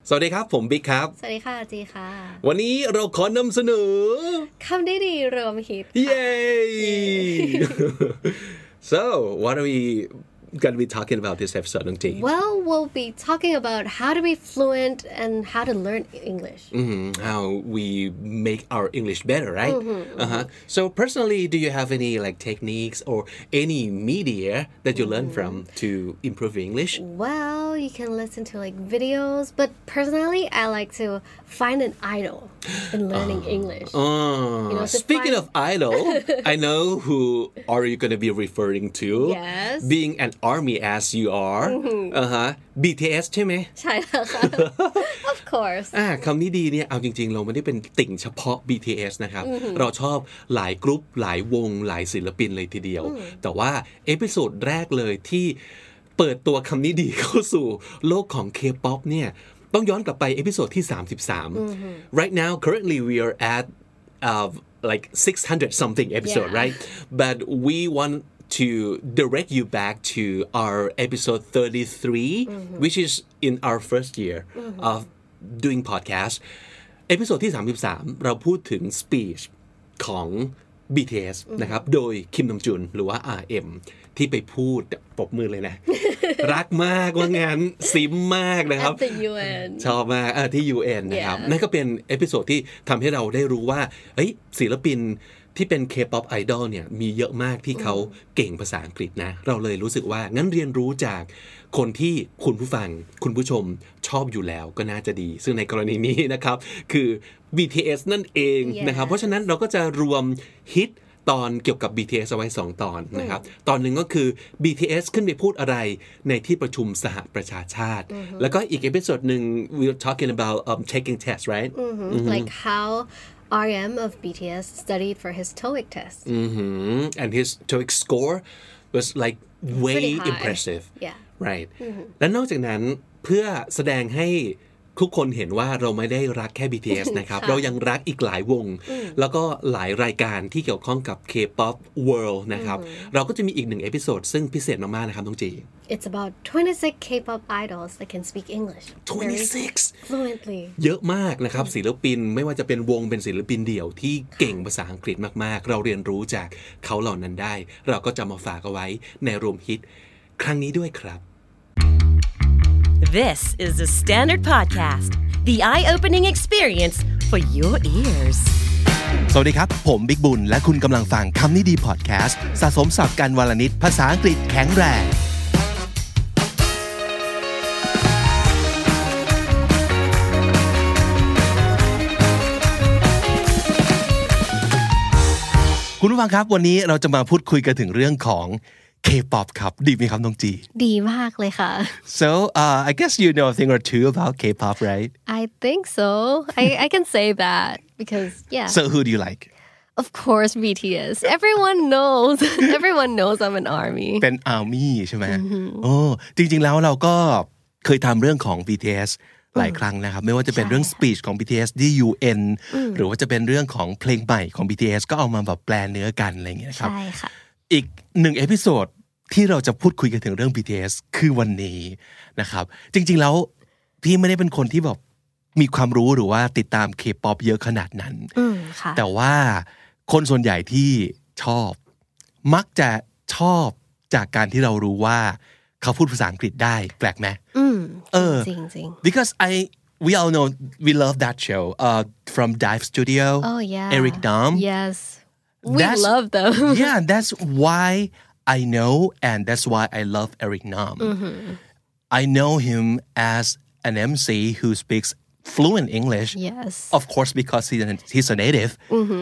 สวัสดีครับผมบิ๊กครับสวัสดีค่ะจีค่ะวันนี้เราขอนำเสนอคำได้ดีรวมฮิตเย้ So what are we going to be talking about this episode น้องจี Well we'll be talking about how to be fluent and how to learn English how we make our English better right So personally do you have any like techniques or any media that you learn from to improve your English Well you can listen to like videos but personally I like to find an idol in learning English Speaking of idol I know who are you going to be referring to Yes being an army as you are BTS ใช่ไหมใช่แล้วค่ะ Of course คำนี้ดีเนี่ยเอาจริงๆเราไม่ได้เป็นติ่งเฉพาะ BTS นะครับเราชอบหลายกรุ๊ปหลายวงหลายศิลปินเลยทีเดียวแต่ว่าเอพิโซดแรกเลยที่เปิดตัวคำนี้ดีเข้าสู่โลกของ K-pop เนี่ยต้องย้อนกลับไปเอพิโซดที่33 Right now currently we are at like 600 something episode right but we want to direct you back to our episode 33 which is in our first year of doing podcast เอพิโซดที่33เราพูดถึง speech ของ BTS นะครับโดยคิมดองจุนหรือว่า RM ที่ไปพูดปรบมือเลยนะ รักมากว่างั้นซิมมากนะครับ At the UN ชอบมากที่ UN นะครับนั่นก็เป็นเอพิโซดที่ทำให้เราได้รู้ว่าศิลปินที่เป็น K-pop idol เนี่ยมีเยอะมากที่เขาเก่งภาษาอังกฤษนะเราเลยรู้สึกว่างั้นเรียนรู้จากคนที่คุณผู้ฟังคุณผู้ชมชอบอยู่แล้วก็น่าจะดีซึ่งในกรณีนี้นะครับคือ BTS นั่นเองนะครับเพราะฉะนั้นเราก็จะรวมฮิตตอนเกี่ยวกับ BTS เอาไว้2ตอนนะครับตอนหนึ่งก็คือ BTS ขึ้นไปพูดอะไรในที่ประชุมสหประชาชาติแล้วก็อีกเอพิโซดหนึ่ง we're talking about taking tests right like how RM of BTS studied for his TOEIC test and his TOEIC score was like way impressive right และนอกจากนั้นเพื่อแสดงให้ทุกคนเห็นว่าเราไม่ได้รักแค่ BTS นะครับเรายังรักอีกหลายวงแล้วก็หลายรายการที่เกี่ยวข้องกับ K-pop World นะครับเราก็จะมีอีก1เอพิโซดซึ่งพิเศษมากๆนะครับน้องจี It's about 26 K-pop idols that can speak English 26 fluently เยอะมากนะครับศิลปินไม่ว่าจะเป็นวงเป็นศิลปินเดี่ยวที่เก่งภาษาอังกฤษมากๆเราเรียนรู้จากเขาเหล่านั้นได้เราก็จะมาฝากเอาไว้ในรวมฮิตครั้งนี้ด้วยครับ This is the Standard Podcast, the eye-opening experience for your ears. สวัสดีครับผมบิ๊กบุญและคุณกำลังฟังคำนี้ดีพอดแคสต์สะสมศัพท์กันวลนิดภาษาอังกฤษแข็งแรงคุณผู้ฟังครับวันนี้เราจะมาพูดคุยกันถึงเรื่องของK-pop ครับดีไหมครับน้องจีดีมากเลยค่ะ So I guess you know a thing or two about K-pop right I think so I can say that because yeah So who do you like Of course BTS everyone knows I'm an army เป็น army ใช่ไหมโอ้จริงๆแล้วเราก็เคยทำเรื่องของ BTS หลายครั้งนะครับไม่ว่าจะเป็นเรื่อง speech ของ BTS ที่ UN หรือว่าจะเป็นเรื่องของเพลงใหม่ของ BTS ก็เอามาแบบแปลเนื้อกันอะไรอย่างเงี้ยครับใช่ค่ะอีก1เอพิโซดที่เราจะพูดคุยกันถึงเรื่อง BTS คือวันนี้นะครับจริงๆแล้วพี่ไม่ได้เป็นคนที่แบบมีความรู้หรือว่าติดตาม K-pop เยอะขนาดนั้นแต่ว่าคนส่วนใหญ่ที่ชอบมักจะชอบจากการที่เรารู้ว่าเขาพูดภาษาอังกฤษได้แปลกไหมจริงๆ because we all know we love that show from Dive Studio oh yeah Eric Nam yes we love them yeah that's why I know and that's why I love Eric Nam I know him as an MC who speaks fluent English yes of course because he's a native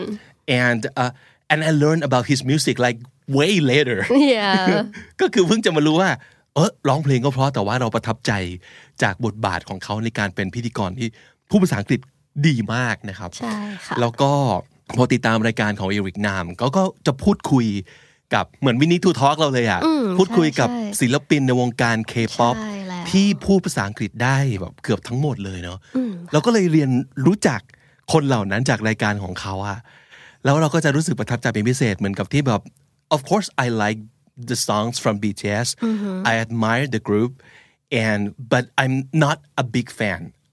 and I learned about his music like way later yeah ก็คือเพิ่งจะมารู้ว่าร้องเพลงก็เพราะแต่ว่าเราประทับใจจากบทบาทของเขาในการเป็นพิธีกรที่พูดภาษาอังกฤษดีมากนะครับใช่ค่ะแล้วก็พอติดตามรายการของเอริกนามก็จะพูดคุยกับเหมือนวินิทูทอล์กเราเลยอ่ะพูดคุยกับศิลปินในวงการ K-pop ที่พูดภาษาอังกฤษได้แบบเกือบทั้งหมดเลยเนาะเราก็เลยเรียนรู้จักคนเหล่านั้นจากรายการของเขาอะแล้วเราก็จะรู้สึกประทับใจเป็นพิเศษเหมือนกับที่แบบ of course I like the songs from BTS I admire the group but I'm not a big fan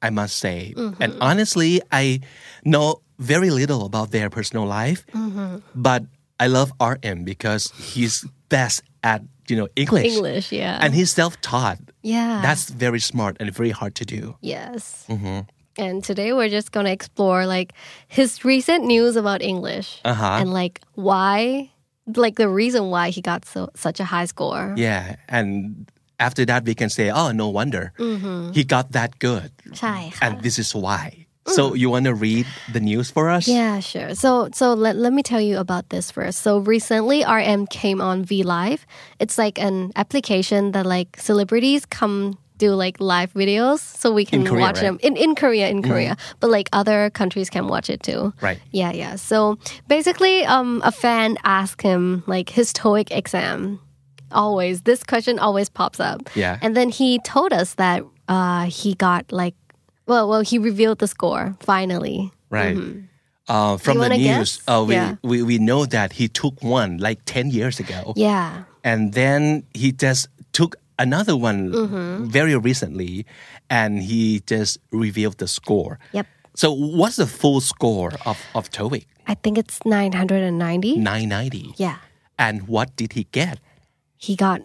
I must say and honestly I know very little about their personal life but I love RM because he's best at English yeah and he's self-taught yeah that's very smart and very hard to do yes and today we're just going to explore like his recent news about English and like why like the reason why he got such a high score yeah and after that we can say oh no wonder he got that good ใช่ค่ะ and this is why so you want to read the news for us yeah sure so let me tell you about this first so recently RM came on V Live it's like an application that like celebrities come do like live videos so we can Korea, watch them in Korea but like other countries can watch it too right yeah so basically a fan asked him like his TOEIC exam always this question always pops up yeah and then he told us that he got like well he revealed the score finally right from the news we know that he took one like 10 years ago yeah and then he just took another one very recently and he just revealed the score yep so what's the full score of TOEIC I think it's 990 990 yeah and what did he get he got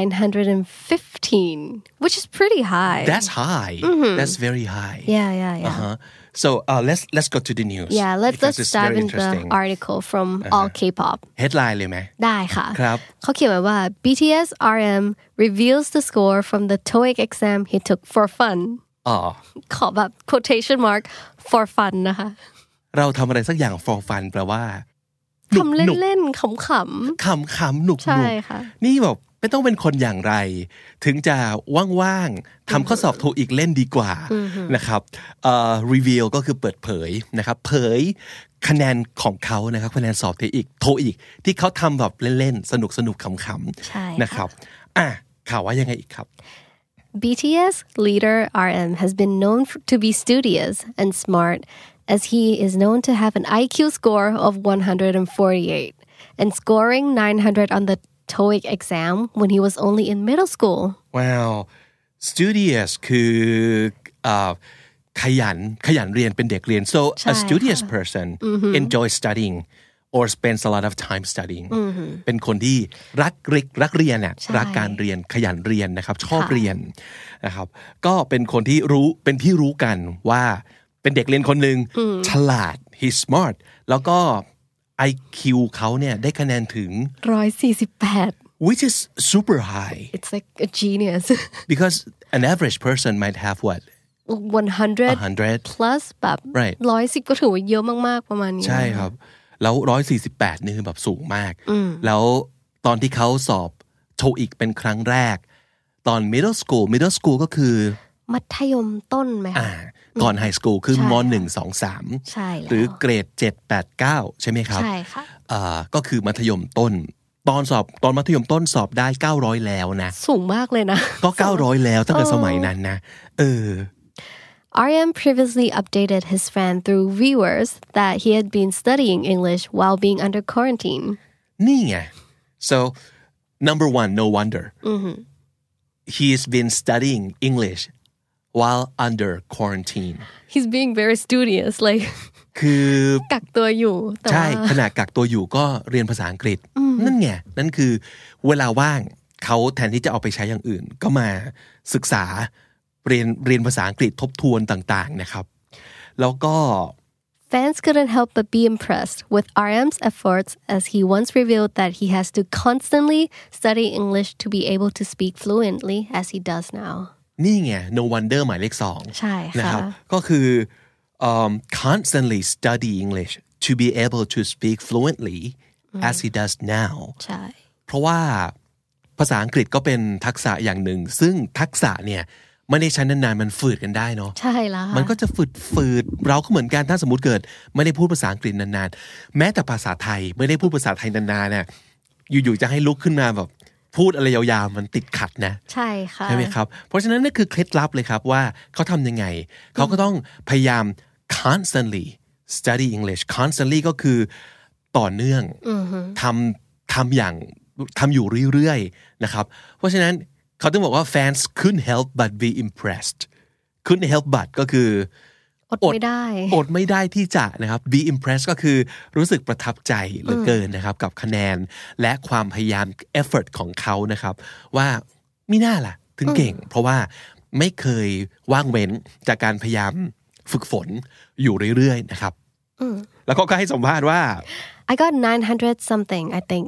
915 which is pretty high that's high that's very high yeah so let's go to the news yeah let's dive into the article from All K-pop headline เลยไหมได้ค่ะครับเขาเขียนไว้ว่า BTS RM reveals the score from the TOEIC exam he took for fun ขอแบบ quotation mark for fun นะคะเราทำอะไรสักอย่าง for fun แปลว่าทำเล่นๆขำๆหนุกๆใช่ค่ะนี่แบบไม่ต้องเป็นคนอย่างไรถึงจะว่างๆทำข้อสอบโทอีกเล่นดีกว่านะครับreveal ก็คือเปิดเผยนะครับเผยคะแนนของเขานะครับคะแนนสอบโทอีกที่เขาทำแบบเล่นๆสนุกๆขำๆนะครับข่าวว่ายังไงอีกครับ BTS leader RM has been known to be studious and smart as he is known to have an IQ score of 148 and scoring 900 on the TOEIC exam when he was only in middle school. Wow, studious คือขยันเรียนเป็นเด็กเรียน so a studious person enjoys studying or spends a lot of time studying เป็นคนที่รักเรียนน่ะรักการเรียนขยันเรียนนะครับชอบเรียนนะครับก็เป็นคนที่เป็นที่รู้กันว่าเป็นเด็กเรียนคนหนึ่งฉลาด he's smart แล้วก็ IQ เขาเนี่ยได้คะแนนถึง 148 which is super high it's like a genius because an average person might have what 100 plus แบบ110ก็ถือว่าเยอะมากๆประมาณนี้ใช่ครับแล้ว148นี่คือแบบสูงมากแล้วตอนที่เขาสอบโทอีกเป็นครั้งแรกตอน middle school ก็คือมัธยมต้นไหมคะก่อนไฮสคูลคือม.1 2 3 ใช่แล้วหรือเกรด7 8 9ใช่ไหมครับใช่ค่ะก็คือมัธยมต้นตอนมัธยมต้นสอบได้900แล้วนะสูงมากเลยนะก็900แล้วตั้งแต่สมัยนั้นนะ RM previously updated his fan through viewers that he had been studying English while being under quarantine นี่ไง so number one no wonder he's been studying English while under quarantine he's being very studious like คือกักตัวอยู่ใช่ขณะกักตัวอยู่ก็เรียนภาษาอังกฤษนั่นไงนั่นคือเวลาว่างเขาแทนที่จะเอาไปใช้อย่างอื่นก็มาศึกษาเรียนภาษาอังกฤษทบทวนต่างๆนะครับแล้วก็ Fans couldn't help but be impressed with RM's efforts as he once revealed that he has to constantly study English to be able to speak fluently as he does now นี่ไง no wonder หมายเลข2 ใช่ค่ะนะครับก็คือconstantly study English to be able to speak fluently as he does now ใช่เพราะว่าภาษาอังกฤษก็เป็นทักษะอย่างหนึ่งซึ่งทักษะเนี่ยไม่ได้ใช้นานๆมันฝืดกันได้เนาะใช่แล้วมันก็จะฝืดเราก็เหมือนกันถ้าสมมุติเกิดไม่ได้พูดภาษาอังกฤษนานๆแม้แต่ภาษาไทยไม่ได้พูดภาษาไทยนานๆเนี่ยอยู่ๆจะให้ลุกขึ้นมาแบบพูดอะไรยาวๆมันติดขัดนะใช่ค่ะใช่ไหมครับเพราะฉะนั้นนี่คือเคล็ดลับเลยครับว่าเขาทำยังไงเขาก็ต้องพยายาม constantly study English constantly ก็คือต่อเนื่องทำอยู่เรื่อยๆนะครับเพราะฉะนั้นเขาต้องบอกว่า fans couldn't help but be impressed couldn't help but ก็คืออดไม่ได้ที่จะนะครับ be impressed ก็คือรู้สึกประทับใจเหลือเกินนะครับกับคะแนนและความพยายาม effort ของเขานะครับว่ามิน่าล่ะถึงเก่งเพราะว่าไม่เคยว่างเว้นจากการพยายามฝึกฝนอยู่เรื่อยๆนะครับแล้วก็ให้สัมภาษณ์ว่า I got 900 something, I think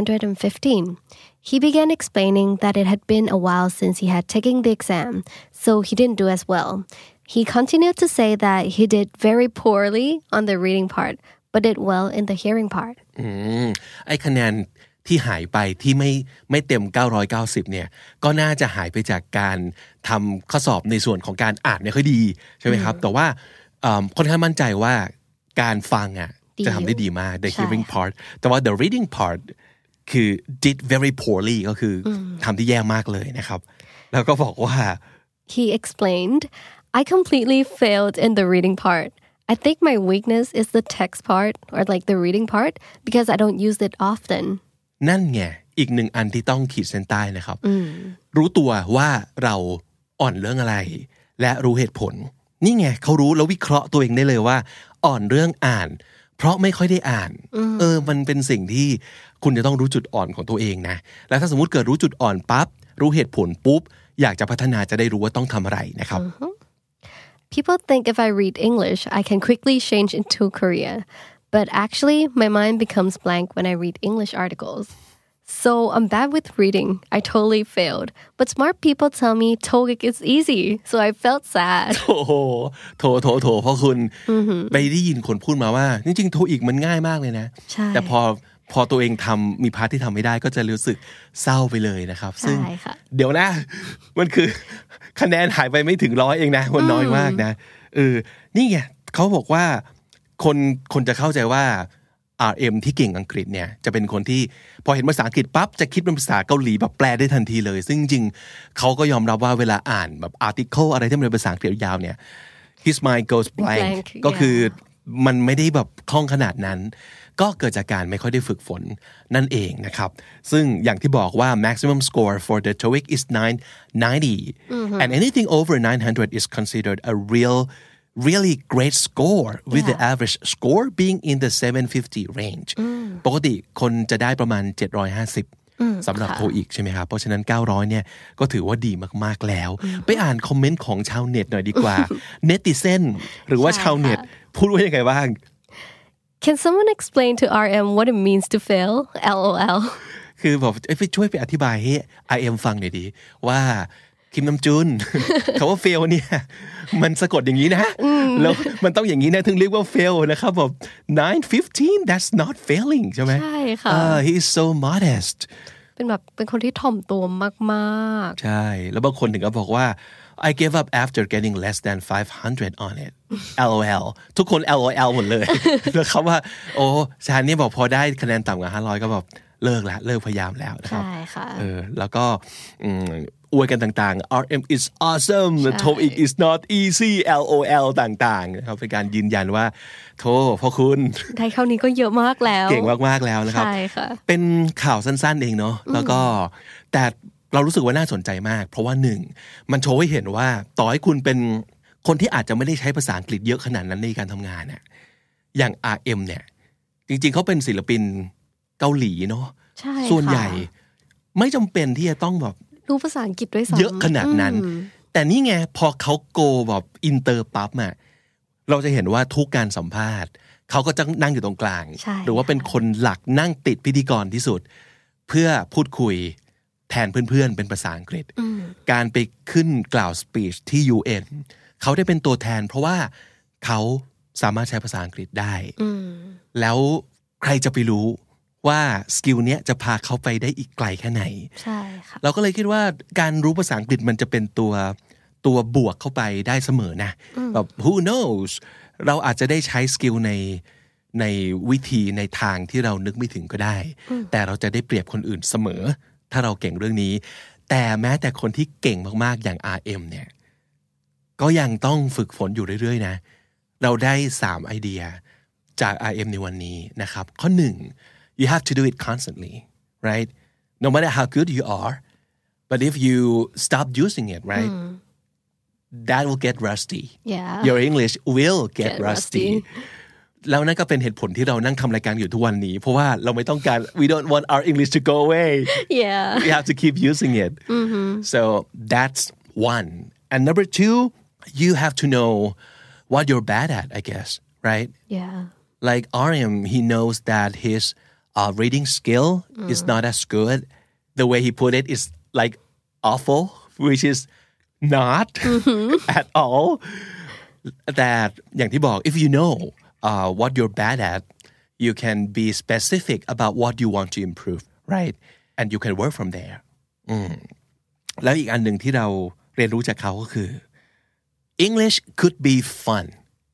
915. He began explaining that it had been a while since he had taken the exam, so he didn't do as well. He continued to say that he did very poorly on the reading part, but did well in the hearing part. ไอ้คะแนนที่หายไปที่ไม่เต็ม990เนี่ยก็น่าจะหายไปจากการทำข้อสอบในส่วนของการอ่านไม่ค่อยดีใช่ไหมครับแต่ว่าค่อนข้างมั่นใจว่าการฟังอ่ะจะทำได้ดีมาก the hearing part แต่ว่า the reading part คือ did very poorly ก็คือทำได้แย่มากเลยนะครับแล้วก็บอกว่า He explained, I completely failed in the reading part. I think my weakness is the text part or like the reading part because I don't use it often. นั่นไงอีกหนึ่งอันที่ต้องขีดเส้นใต้นะครับรู้ตัวว่าเราอ่อนเรื่องอะไรและรู้เหตุผลนี่ไงเขารู้แล้ววิเคราะห์ตัวเองได้เลยว่าอ่อนเรื่องอ่านเพราะไม่ค่อยได้อ่านมันเป็นสิ่งที่คุณจะต้องรู้จุดอ่อนของตัวเองนะแล้วถ้าสมมุติเกิดรู้จุดอ่อนปั๊บรู้เหตุผลปุ๊บอยากจะพัฒนาจะได้รู้ว่าต้องทำอะไรนะครับ People think if I read English, I can quickly change into Korean. But actually, my mind becomes blank when I read English articles. So I'm bad with reading. I totally failed. But smart people tell me TOEIC is easy. So I felt sad. โอ้โหโถเพราะคุณไปได้ยินคนพูดมาว่าจริงๆ TOEIC มันง่ายมากเลยนะแต่พอตัวเองทำมีพาร์ทที่ทำไม่ได้ก็จะรู้สึกเศร้าไปเลยนะครับซึ่งเดี๋ยวนะมันคือคะแนนหายไปไม่ถึง100เองนะมันน้อยมากนะนี่ไงเขาบอกว่าคนจะเข้าใจว่า RM ที่เก่งอังกฤษเนี่ยจะเป็นคนที่พอเห็นภาษาอังกฤษปั๊บจะคิดเป็นภาษาเกาหลีแบบแปลได้ทันทีเลยซึ่งจริงๆเขาก็ยอมรับว่าเวลาอ่านแบบ article อะไรที่มันเป็นภาษาอังกฤษยาวเนี่ย his mind goes blank ก็คือมันไม่ได้แบบคล่องขนาดนั้นก็เกิดจากการไม่ค่อยได้ฝึกฝนนั่นเองนะครับซึ่งอย่างที่บอกว่า maximum score for the TOEIC is 990 and anything over 900 is considered a really great score with the average score being in the 750 range ปกติคนจะได้ประมาณ750สำหรับ TOEIC ใช่ไหมครับเพราะฉะนั้น900เนี่ยก็ถือว่าดีมากๆแล้วไปอ่านคอมเมนต์ของชาวเน็ตหน่อยดีกว่า netizen หรือว่าชาวเน็ตพูดว่ายังไงบ้าง Can someone explain to RM what it means to fail? LOL คือบอกไปช่วยไปอธิบายให้ RM ฟังหน่อยดีว่าคิมน้ำจุน เขาว่า fail เนี่ยมันสะกดอย่างนี้นะแล้วมันต้องอย่างนี้นะถึงเรียกว่า fail นะครับแบบ915 that's not failing ใช่ไหมใช่ค่ะ he is so modest เป็นคนที่ถ่อมตัวมากๆใช่แล้วบางคนถึงก็บอกว่า I gave up after getting less than 500 on it LOL ทุกคน LOL หมดเลยแล้วเขาว่าโอ้ชาญนี่บอกพอได้คะแนนต่ำกว่า500ก็แบบเลิกพยายามแล้วนะครับใช่ค่ะแล้วก็อวยกันต่างๆ RM is awesome TOEIC is not easy LOL ต่างๆนะครับเป็นการยืนยันว่าโธ่พ่อคุณได้เท่านี้ก็เยอะมากแล้วเก่งมากๆแล้วนะครับใช่ค่ะเป็นข่าวสั้นๆเองเนาะแล้วก็แต่เรารู้สึกว่าน่าสนใจมากเพราะว่าหนึ่งมันโชว์ให้เห็นว่าต่อให้คุณเป็นคนที่อาจจะไม่ได้ใช้ภาษาอังกฤษเยอะขนาดนั้นในการทำงานเนี่ยอย่าง RM เนี่ยจริงๆเขาเป็นศิลปินเกาหลีเนาะส่วนใหญ่ไม่จำเป็นที่จะต้องแบบรู้ภาษาอังกฤษด้วยซ้ำเยอะขนาดนั้นแต่นี่ไงพอเขาโกแบบอินเตอร์ปั๊บอ่ะเราจะเห็นว่าทุกการสัมภาษณ์เขาก็จะนั่งอยู่ตรงกลางหรือว่าเป็นคนหลักนั่งติดพิธีกรที่สุดเพื่อพูดคุยแทนเพื่อนๆเป็นภาษาอังกฤษการไปขึ้นกล่าวสปีชที่ UN เขาได้เป็นตัวแทนเพราะว่าเขาสามารถใช้ภาษาอังกฤษได้แล้วใครจะไปรู้ว่าสกิลเนี้ยจะพาเขาไปได้อีกไกลแค่ไหนใช่ค่ะเราก็เลยคิดว่าการรู้ภาษาอังกฤษมันจะเป็นตัวบวกเข้าไปได้เสมอนะแบบ who knows เราอาจจะได้ใช้สกิลในวิธีในทางที่เรานึกไม่ถึงก็ได้แต่เราจะได้เปรียบคนอื่นเสมอถ้าเราเก่งเรื่องนี้แต่แม้แต่คนที่เก่งมากๆอย่าง RM เนี่ยก็ยังต้องฝึกฝนอยู่เรื่อยๆนะเราได้3ไอเดียจาก RM ในวันนี้นะครับข้อ1 you have to do it constantly right no matter how good you are but if you stop using it right that will get rusty Yeah. your English will get Get rusty rusty. แล้วนั่นก็เป็นเหตุผลที่เรานั่งทำรายการอยู่ทุกวันนี้เพราะว่าเราไม่ต้องการ we don't want our English to go away Yeah. we have to keep using it so that's one and number two you have to know what you're bad at I guess right Yeah. like RM he knows that his reading skill is not as good the way he put it is like awful which is not at all that อย่างที่บอก if you know what you're bad at you can be specific about what you want to improve right and you can work from there แล้วอีกอันหนึ่งที่เราเรียนรู้จากเขาก็คือ English could be fun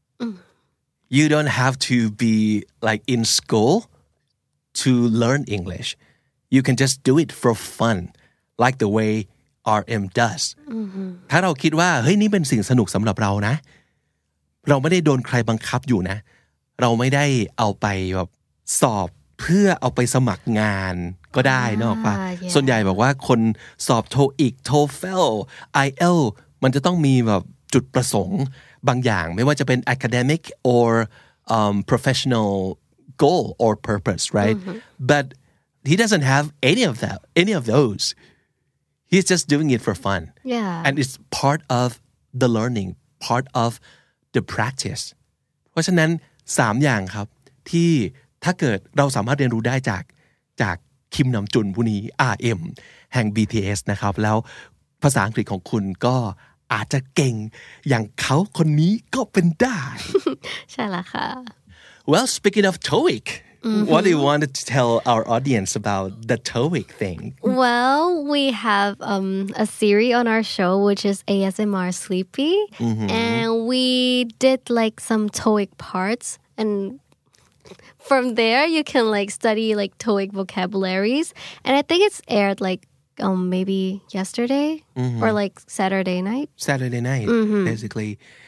you don't have to be like in school to learn English you can just do it for fun like the way RM does ถ้าเราคิดว่าเฮ้ยนี่เป็นสิ่งสนุกสำหรับเรานะเราไม่ได้โดนใครบังคับอยู่นะเราไม่ได้เอาไปแบบสอบเพื่อเอาไปสมัครงานก็ได้นอกป่ะ yeah. ส่วนใหญ่บอกว่าคนสอบ TOEIC TOEFL IELTS มันจะต้องมีแบบจุดประสงค์บางอย่างไม่ว่าจะเป็น academic or professional goal or purpose right but he doesn't have any of those he's just doing it for fun Yeah. and it's part of the learning part of the practice เพราะฉะนั้น3อย่างครับที่ถ้าเกิดเราสามารถเรียนรู้ได้จากคิมนำจุนผู้นี้ RM แห่ง BTS นะครับแล้วภาษาอังกฤษของคุณก็อาจจะเก่งอย่างเขาคนนี้ก็เป็นได้ใช่ละค่ะ Well speaking of TOEIC what do you want to tell our audience about the TOEIC thing Well, we have a series on our show which is ASMR Sleepy, and we did like some TOEIC parts, and from there you can like study like TOEIC vocabularies, and I think it's aired like maybe yesterday or like Saturday night basically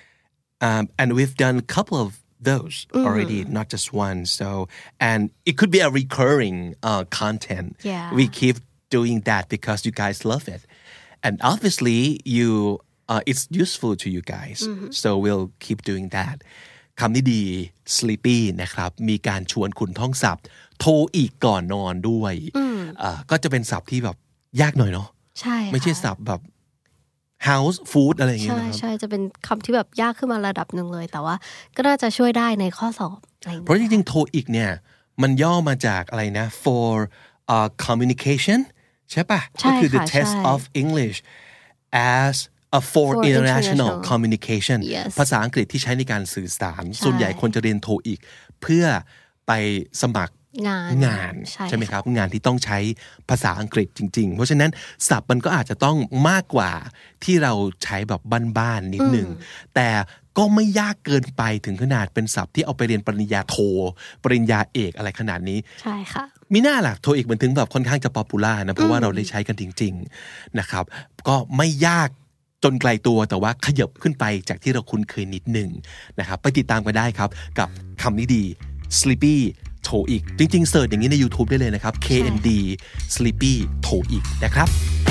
and we've done a couple of those already not just one so and it could be a recurring content Yeah. we keep doing that because you guys love it and obviously you it's useful to you guys so we'll keep doing that คำนี้ดี sleepy นะครับมีการชวนคุณท่องศัพท์โทรอีกก่อนนอนด้วยก็จะเป็นศัพท์ที่แบบยากหน่อยเนาะใช่ไม่ใช่ศัพท์แบบ house food อะไรอย่างเงี้ยใช่นะครับใช่จะเป็นคำที่แบบยากขึ้นมาระดับหนึ่งเลยแต่ว่าก็น่าจะช่วยได้ในข้อสอบอะไรอย่างเพเงี้ยราะจริงๆ TOEIC เนี่ยมันย่อมาจากอะไรนะ for communication ใช่ปะใช่ก็คือ the ค่ะ test ใช่ of English as a for international communication Yes ภาษาอังกฤษที่ใช้ในการสื่อสารส่วนใหญ่คนจะเรียน TOEIC เพื่อไปสมัครงาน ใช่ไหมครับงานที่ต้องใช้ภาษาอังกฤษจริงๆเพราะฉะนั้นศัพท์มันก็อาจจะต้องมากกว่าที่เราใช้แบบบ้านๆนิดหนึ่งแต่ก็ไม่ยากเกินไปถึงขนาดเป็นศัพท์ที่เอาไปเรียนปริญญาโทปริญญาเอกอะไรขนาดนี้ใช่ค่ะมีหน้าล่ะโทอีกมันถึงแบบค่อนข้างจะป๊อปปูล่านะเพราะว่าเราได้ใช้กันจริงๆนะครับก็ไม่ยากจนไกลตัวแต่ว่าขยับขึ้นไปจากที่เราคุ้นเคยนิดหนึ่งนะครับไปติดตามกันได้ครับกับคำนี้ดี sleepy โทอีกจริงๆเสิร์ชอย่างนี้ใน YouTube ได้เลยนะครับ KND sleepy โทอีกนะครับ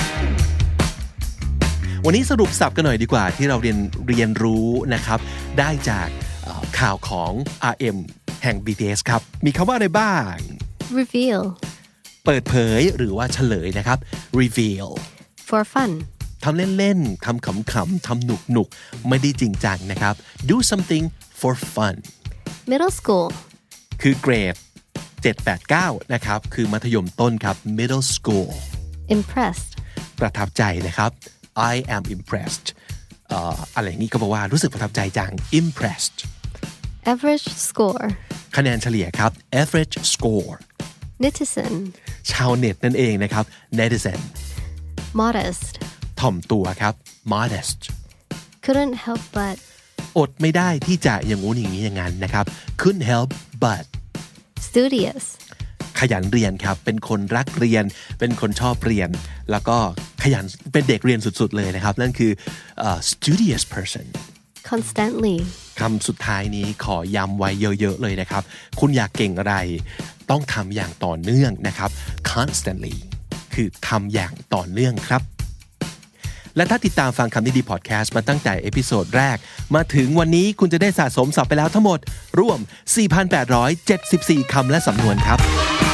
วันนี้สรุปศัพท์กันหน่อยดีกว่าที่เราเรียนรู้นะครับได้จากข่าวของ RM แห่ง BTS ครับมีคำว่าอะไรบ้าง reveal เปิดเผยหรือว่าเฉลยนะครับ reveal for fun ทำเล่นๆทำขำๆทำหนุกๆไม่ได้จริงจังนะครับ do something for fun middle school คือเกรด 7-8-9 นะครับคือมัธยมต้นครับ middle school impressed ประทับใจนะครับ I am impressed อะไรอย่างนี้ก็บอกว่ารู้สึกประทับใจจัง impressed average score คะแนนเฉลี่ยครับ average score netizen ชาวเน็ตนั่นเองนะครับ netizen modest ถ่อมตัวครับ modest couldn't help but อดไม่ได้ที่จะอย่างงู้นอย่างนี้อย่างนั้นนะครับ couldn't help but studious ขยันเรียนครับเป็นคนรักเรียนเป็นคนชอบเรียนแล้วก็ขยันเป็นเด็กเรียนสุดๆเลยนะครับนั่นคือstudious person constantly คำสุดท้ายนี้ขอย้ำไว้เยอะๆเลยนะครับคุณอยากเก่งอะไรต้องทำอย่างต่อเนื่องนะครับ constantly คือทำอย่างต่อเนื่องครับและถ้าติดตามฟังคำนี้ดีพอดแคสต์มาตั้งแต่เอพิโซดแรกมาถึงวันนี้คุณจะได้สะสมศัพท์ไปแล้วทั้งหมดรวม 4,874 คำและสำนวนครับ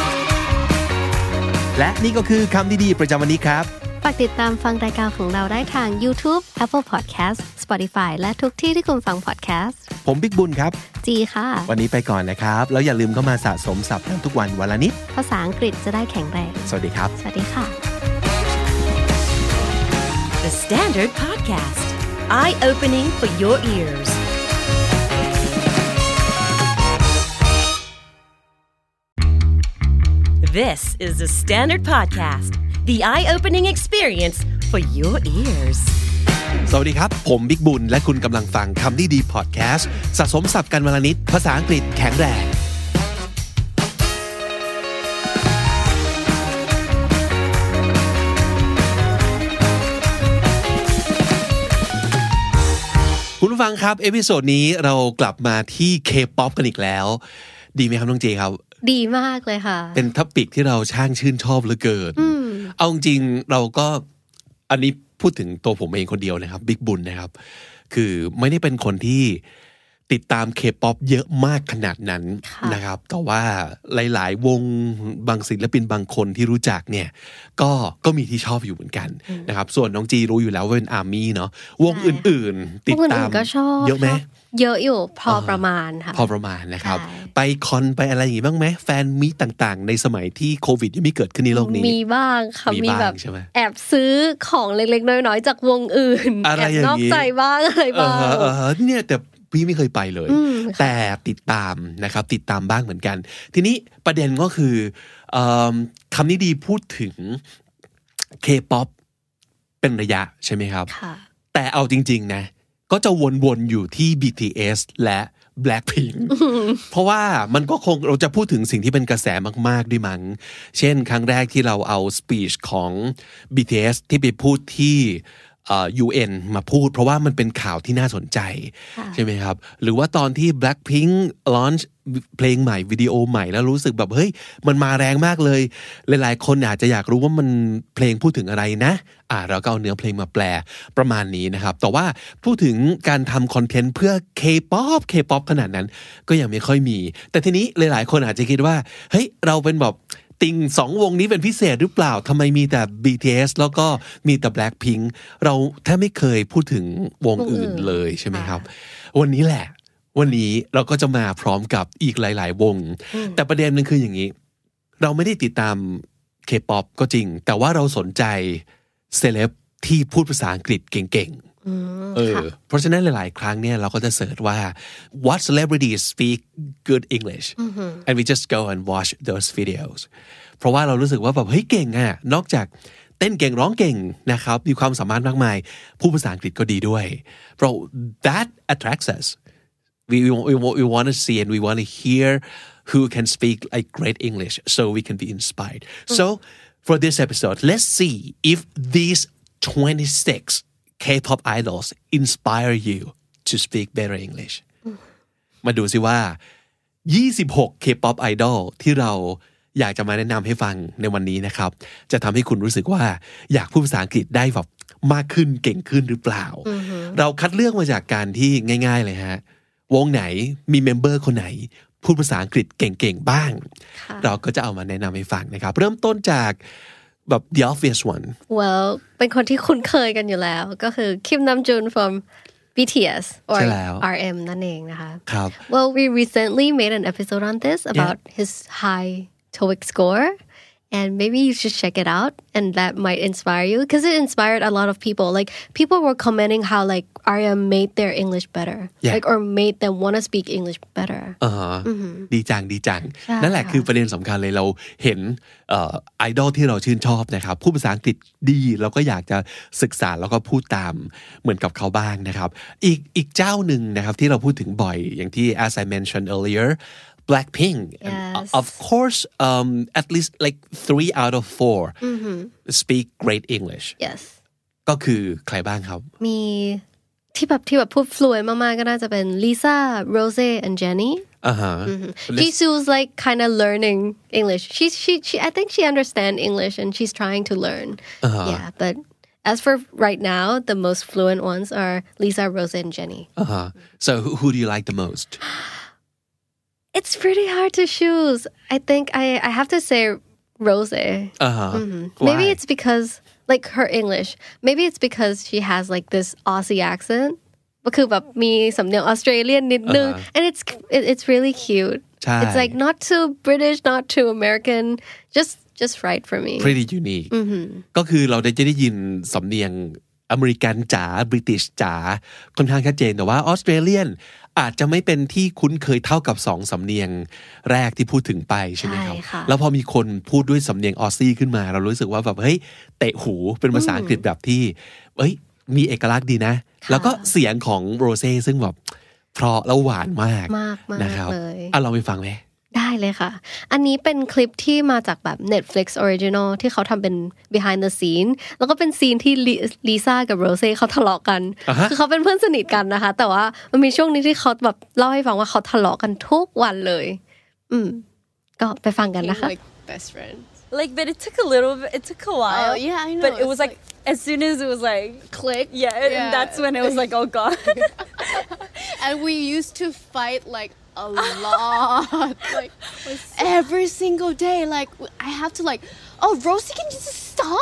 และนี่ก็คือคำดีๆประจำวันนี้ครับฝากติดตามฟังรายการของเราได้ทาง YouTube, Apple Podcast, Spotify และทุกที่ที่คุณฟัง podcast ผมบิ๊กบุญครับจีค่ะวันนี้ไปก่อนนะครับแล้วอย่าลืมเข้ามาสะสมศัพท์กันทุกวันละนิดภาษาอังกฤษจะได้แข็งแรงสวัสดีครับสวัสดีค่ะ The Standard Podcast Eye-opening for your ears This is the Standard Podcast The eye-opening experience for your ears สวัสดีครับผมบิ๊กบุญและคุณกำลังฟังคำนี้ดีพอดแคสต์สะสมศัพท์กันวันละนิดภาษาอังกฤษแข็งแรงคุณผู้ฟังครับเอพิโซดนี้เรากลับมาที่ K-pop กันอีกแล้วดีไหมครับน้องเจครับดีมากเลยค่ะเป็นท็อปิกที่เราช่างชื่นชอบเหลือเกินเอาจริงเราก็อันนี้พูดถึงตัวผมเองคนเดียวนะครับบิ๊กบุญนะครับคือไม่ได้เป็นคนที่ติดตาม K-pop เยอะมากขนาดนั้นนะครับแต่ว่าหลายๆวงบางศิลปินบางคนที่รู้จักเนี่ยก็มีที่ชอบอยู่เหมือนกันนะครับส่วนน้องจีรู้อยู่แล้วว่าเป็นอาร์มี่เนาะวงอื่นๆติดตามเยอะไหมเยอะอยู่พอประมาณค่ะพอประมาณนะครับไปคอนไปอะไรอย่างงี้บ้างไหมแฟนมีต่างๆในสมัยที่โควิดยังไม่เกิดขึ้นในโลกนี้มีบ้างค่ะมีแบบแอบซื้อของเล็กๆน้อยๆจากวงอื่นแอบนอกใจบ้างอะไรบ้างเนี่ยแต่พี่ไม่เคยไปเลยแต่ติดตามนะครับติดตามบ้างเหมือนกันทีนี้ประเด็นก็คือคำนี้ดีพูดถึง K-pop เป็นระยะใช่ไหมครับแต่เอาจริงๆนะก็จะวนๆอยู่ที่ BTS และ Blackpink เพราะว่ามันก็คงเราจะพูดถึงสิ่งที่เป็นกระแสมากๆด้วยมั้งเช่นครั้งแรกที่เราเอาสปีชของ BTS ที่ไปพูดที่UN มาพูดเพราะว่ามันเป็นข่าวที่น่าสนใจใช่ไหมครับหรือว่าตอนที่ Blackpink launch เพลงใหม่วิดีโอใหม่แล้วรู้สึกแบบเฮ้ยมันมาแรงมากเลยหลายๆคนอาจจะอยากรู้ว่ามันเพลงพูดถึงอะไรนะเราก็เอาเนื้อเพลงมาแปลประมาณนี้นะครับแต่ว่าพูดถึงการทำคอนเทนต์เพื่อ K-pop ขนาดนั้นก็ยังไม่ค่อยมีแต่ทีนี้หลายๆคนอาจจะคิดว่าเฮ้ยเราเป็นแบบติ่ง2วงนี้เป็นพิเศษหรือเปล่าทำไมมีแต่ BTS แล้วก็มีแต่ Blackpink เราแทบไม่เคยพูดถึงวงอื่นเลยใช่ไหมครับวันนี้แหละวันนี้เราก็จะมาพร้อมกับอีกหลายๆวงแต่ประเด็นนึงคืออย่างนี้เราไม่ได้ติดตาม K-pop ก็จริงแต่ว่าเราสนใจเซเลบที่พูดภาษาอังกฤษเก่งๆเพราะฉะนั้นหลายๆครั้งเนี่ยเราก็จะเสิร์ชว่า what celebrities speak good English and we just go and watch those videos เพราะว่าเรารู้สึกว่าแบบเฮ้ยเก่งอ่ะนอกจากเต้นเก่งร้องเก่งนะครับมีความสามารถมากมายพูดภาษาอังกฤษก็ดีด้วยเพราะ that attracts us we want to see and we want to hear who can speak like great English so we can be inspired so for this episode let's see if these 26 K-pop idols inspire you to speak better English มาดูสิว่า26 K-pop idol ที่เราอยากจะมาแนะนำให้ฟังในวันนี้นะครับจะทำให้คุณรู้สึกว่าอยากพูดภาษาอังกฤษได้แบบมากขึ้นเก่งขึ้นหรือเปล่าเราคัดเลือกมาจากการที่ง่ายๆเลยฮะวงไหนมีเมมเบอร์คนไหนพูดภาษาอังกฤษเก่งๆบ้างเราก็จะเอามาแนะนำให้ฟังนะครับเริ่มต้นจากแบบ the obvious one well เป็นคนที่คุ้นเคยกันอยู่แล้วก็คือ Kim Namjoon from BTS or RM นั่นเองนะคะครับ well we recently made an episode on this about his high TOEIC score and maybe you should check it out and that might inspire you because it inspired a lot of people like people were commenting how like RM made their English better like or made them want to speak English better ดีจังนั่นแหละคือประเด็นสำคัญเลยเราเห็นไอดอลที่เราชื่นชอบนะครับพูดภาษาอังกฤษดีเราก็อยากจะศึกษาแล้วก็พูดตามเหมือนกับเขาบ้างนะครับอีกเจ้าหนึ่งนะครับที่เราพูดถึงบ่อยอย่างที่ as I mentioned earlier Blackpink and of course at least like 3 out of 4 speak great English yes ก็คือใครบ้างครับมีที่แบบพูด fluent มากๆก็น่าจะเป็น Lisa Rose and Jennie Jisoo's like kind of learning English she I think she understands English and she's trying to learn yeah but As for right now, the most fluent ones are Lisa, Rose, and Jenny. So who do you like the most? It's pretty hard to choose. I think I have to say Rose. Maybe it's because like her English. Maybe it's because she has like this Aussie accent. ก็คือแบบมีสำเนียง Australian นิดนึง and it's really cute. It's like not too British, not too American, just right for me. Pretty unique. ก็คือเราจะได้ยินสำเนียงอเมริกันจ๋าบริติชจ๋าค่อนข้างชัดเจนแต่ว่าออสเตรเลียนอาจจะไม่เป็นที่คุ้นเคยเท่ากับ2สำเนียงแรกที่พูดถึงไปใช่ไหมครับแล้วพอมีคนพูดด้วยสำเนียงออสซี่ขึ้นมาเรารู้สึกว่าแบบเฮ้ยเตะหูเป็นภาษาอังกฤษแบบที่เอ้ยมีเอกลักษณ์ดีนะแล้วก็เสียงของโรเซ่ซึ่งแบบเพราะแล้วหวานมากนะครับเราไปฟังไหมได้เลยค่ะอันนี้เป็นคลิปที่มาจากแบบ Netflix Original ที่เขาทำเป็น behind the scene แล้วก็เป็นซีนที่ลิซ่ากับโรเซ่เขาทะเลาะกันคือเขาเป็นเพื่อนสนิทกันนะคะแต่ว่ามันมีช่วงนี้ที่เขาแบบเล่าให้ฟังว่าเขาทะเลาะกันทุกวันเลยก็ไปฟังกันนะคะ like best friends like but it took a while yeah I know but it was like as soon as it was like click and that's when it was like oh god and we used to fight like a lot like every single day like I have to like oh Rosie can you just stop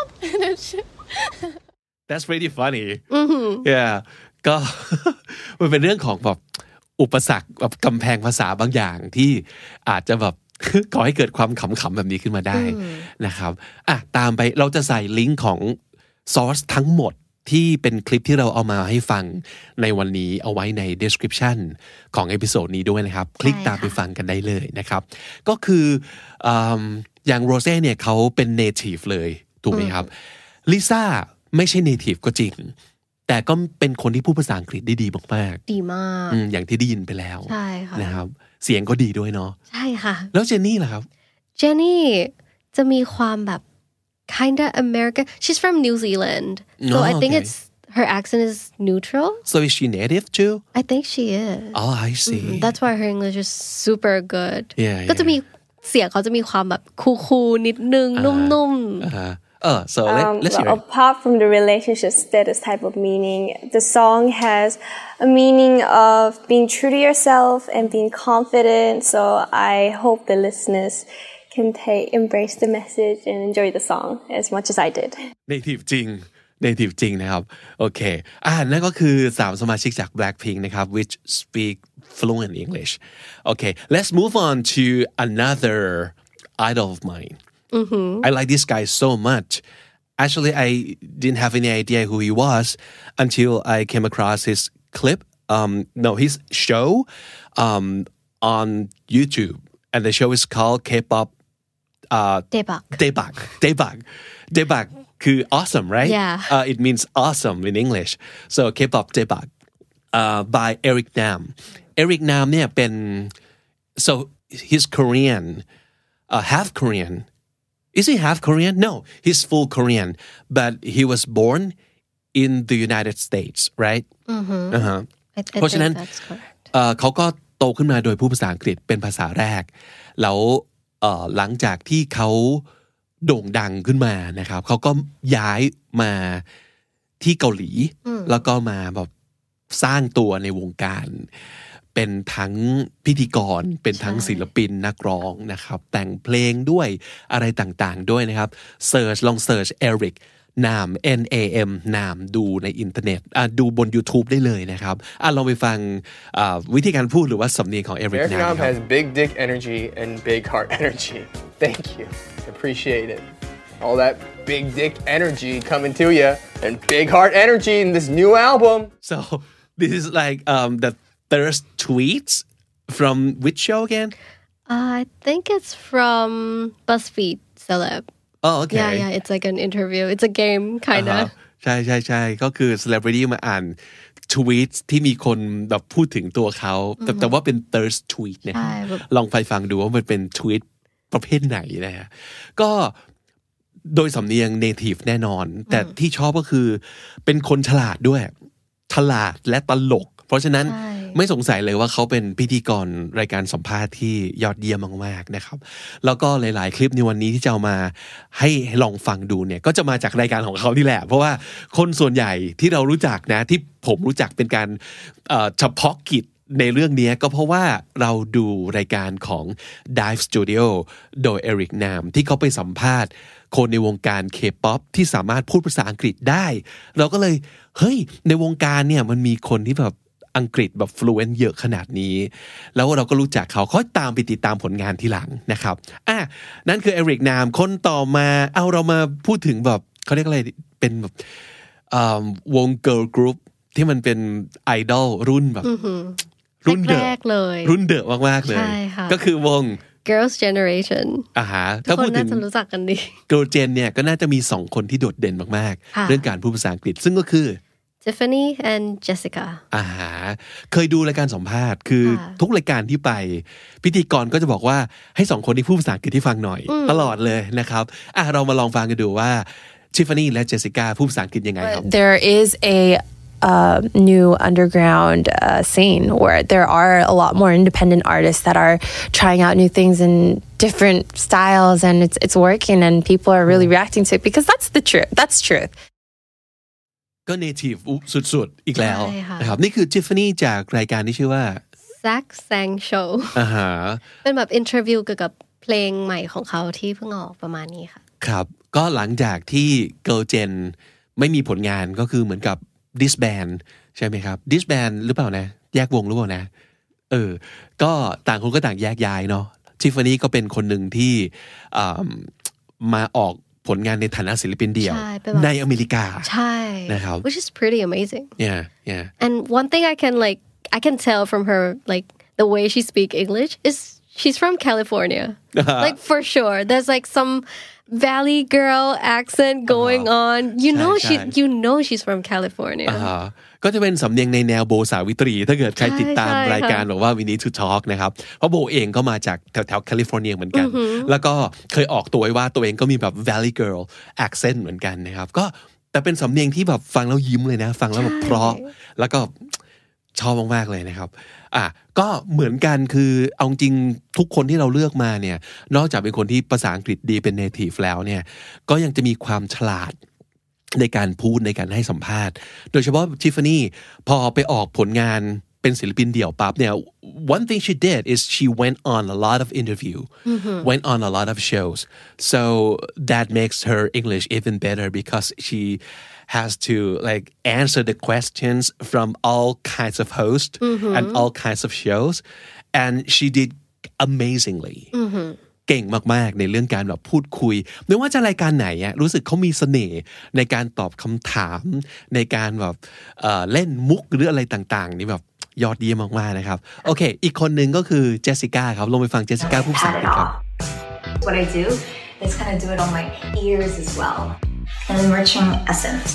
That's pretty funny yeah ก็ มันเป็นเรื่องของแบบอุปสรรคแบบกำแพงภาษาบางอย่างที่อาจจะแบบก่อให้เกิดความขำๆแบบนี้ขึ้นมาได้นะครับตามไปเราจะใส่ลิงก์ของซอสทั้งหมดที่เป็นคลิปที่เราเอามาให้ฟังในวันนี้เอาไว้ใน description ของเอพิโซดนี้ด้วยนะครับคลิกตามไปฟังกันได้เลยนะครับก็คืออย่างโรเซ่เนี่ยเขาเป็น native เลยถูกไหมครับลิซ่าไม่ใช่ native ก็จริงแต่ก็เป็นคนที่พูดภาษาอังกฤษได้ดีมากๆดีมากอย่างที่ได้ยินไปแล้วใช่ค่ะนะครับเสียงก็ดีด้วยเนาะใช่ค่ะแล้วเจนนี่ล่ะครับเจนนี่จะมีความแบบkind of American. She's from New Zealand. So I think her accent is neutral. So is she native too? I think she is. Oh, I see. That's why her English is super good. Yeah. ก็จะมีเสียงเขาจะมีความแบบคูลๆนิดนึงนุ่มๆ. So let's hear it. Apart from the relationship status type of meaning, the song has a meaning of being true to yourself and being confident. So I hope the listeners can embrace the message and enjoy the song as much as I did. Native จริงนะครับโอเคนั่นก็คือ3สมาชิกจาก Blackpink นะครับ which speak fluent English. Okay, let's move on to another idol of mine. I like this guy so much. Actually, I didn't have any idea who he was until I came across his clip. His show on YouTube, and the show is called K-pop. Daebak คือ awesome, right? Yeah. It means awesome in English. So K-pop Daebak by Eric Nam. Eric Nam เนี่ยเป็น so he's Korean, half Korean. Is he half Korean? No, he's full Korean, but he was born in the United States, right? เพราะฉะนั้นเขาก็โตขึ้นมาโดยพูดภาษาอังกฤษเป็นภาษาแรกแล้วหลังจากที่เขาโด่งดังขึ้นมานะครับเขาก็ย้ายมาที่เกาหลีแล้วก็มาแบบสร้างตัวในวงการเป็นทั้งพิธีกรเป็นทั้งศิลปินนักร้องนะครับแต่งเพลงด้วยอะไรต่างๆด้วยนะครับลองเสิร์ช Eric Nam Nam นามดูในอินเทอร์เน็ตดูบน YouTube ได้เลยนะครับลองไปฟังวิธีการพูดหรือว่าสำเนียงของ Eric Nam has big dick energy and big heart energy. Thank you. Appreciate it. All that big dick energy coming to you and big heart energy in this new album. So this is like the thirst tweets from which show again? I think it's from BuzzFeed Celeb.Oh, okay. Yeah, it's like an interview. It's a game, kind of. ใช่ก็คือ celebrity มาอ่าน tweet ที่มีคนแบบพูดถึงตัวเขาแต่ว่าเป็น thirst tweet เนี่ยลองไปฟังดูว่ามันเป็น tweet ประเภทไหนนะฮะก็โดยสำเนียง native แน่นอนแต่ที่ชอบก็คือเป็นคนฉลาดด้วยฉลาดและตลกเพราะฉะนั้นไม่สงสัยเลยว่าเขาเป็นพิธีกรรายการสัมภาษณ์ที่ยอดเยี่ยมมากๆนะครับแล้วก็หลายๆคลิปในวันนี้ที่จะเอามาให้ลองฟังดูเนี่ยก็จะมาจากรายการของเขานี่แหละเพราะว่าคนส่วนใหญ่ที่เรารู้จักนะที่ผมรู้จักเป็นการเฉพาะกิจในเรื่องนี้ก็เพราะว่าเราดูรายการของ Dive Studio โดย Eric Nam ที่เขาไปสัมภาษณ์คนในวงการ K-pop ที่สามารถพูดภาษาอังกฤษได้เราก็เลยเฮ้ยในวงการเนี่ยมันมีคนที่แบบอังกฤษแบบ fluent เยอะขนาดนี้แล้วเราก็รู้จักเขาตามไปติดตามผลงานทีหลังนะครับนั่นคือ Eric Nam คนต่อมาเอาเรามาพูดถึงแบบเขาเรียกอะไรเป็นแบบวง girl group ที่มันเป็นไอดอลรุ่นแบบรุ่นเดอะเลยรุ่นเดอะมากๆเลยก็คือวง Girls Generation ถ้าพูดถึงน่าจะรู้จักกันดี Girl Gen เนี่ยก็น่าจะมี2คนที่โดดเด่นมากๆเรื่องการพูดภาษาอังกฤษซึ่งก็คือ Tiffany and Jessica เคยดูรายการสัมภาษณ์คือทุกรายการที่ไปพิธีกรก็จะบอกว่าให้2คนที่พูดภาษาอังกฤษที่ฟังหน่อยตลอดเลยนะครับเรามาลองฟังกันดูว่า Tiffany และ Jessica พูดภาษาอังกฤษยังไงครับ There is a new underground scene where there are a lot more independent artists that are trying out new things in different styles and it's working and people are really reacting to it because that's the truth. That's truth. ก็ native สุดๆอีกแล้วนะครับนี่คือ Tiffany จากรายการที่ชื่อว่า Zach Sang Show เป็นแบบอินเทอร์วิวเกี่ยวกับเพลงใหม่ของเขาที่เพิ่งออกประมาณนี้ค่ะครับก็หลังจากที่ Girl Gen ไม่มีผลงานก็คือเหมือนกับ disband ใช่ไหมครับ disband หรือเปล่านะแยกวงหรือเปล่านะก็ต่างคนก็ต่างแยกย้ายเนาะ Tiffany ก็เป็นคนหนึ่งที่มาออกผลงานในฐานะศิลปินเดี่ยวในอเมริกาใช่นะครับ which is pretty amazing yeah and one thing I can tell from her like the way she speak English is she's from California like for sure there's like some Valley girl accent going on you know she's from California ก็จะเป็นสำเนียงในแนวโบสาวิตรีถ้าเกิดใครติดตามรายการบอกว่า We Need to Talk นะครับเพราะโบเองก็มาจากแถวแคลิฟอร์เนียเหมือนกันแล้วก็เคยออกตัวไว้ว่าตัวเองก็มีแบบ Valley girl accent เหมือนกันนะครับก็แต่เป็นสำเนียงที่แบบฟังแล้วยิ้มเลยนะฟังแล้วแบบเพราะแล้วก็ชอบมากๆเลยนะครับก็เหมือนกันคือเอาจริงทุกคนที่เราเลือกมาเนี่ยนอกจากเป็นคนที่ภาษาอังกฤษดีเป็น native แล้วเนี่ยก็ยังจะมีความฉลาดในการพูดในการให้สัมภาษณ์โดยเฉพาะ Tiffany พอไปออกผลงานเป็นศิลปินเดี่ยวปั๊บเนี่ย one thing she did is she went on a lot of interview went on a lot of shows so that makes her English even better because she has to like answer the questions from all kinds of hosts and all kinds of shows and she did amazingly เก่งมากๆในเรื่องการแบบพูดคุยไม่ว่าจะรายการไหนรู้สึกเขามีเสน่ห์ในการตอบคำถามในการแบบเล่นมุกหรืออะไรต่างๆนี่แบบยอดเยี่ยมมากๆนะครับโอเคอีกคนหนึ่งก็คือเจสสิก้าครับลงไปฟังเจสสิก้าพูดภาษาอังกฤษครับ What I do is kind of do it on my ears as well and enriching essence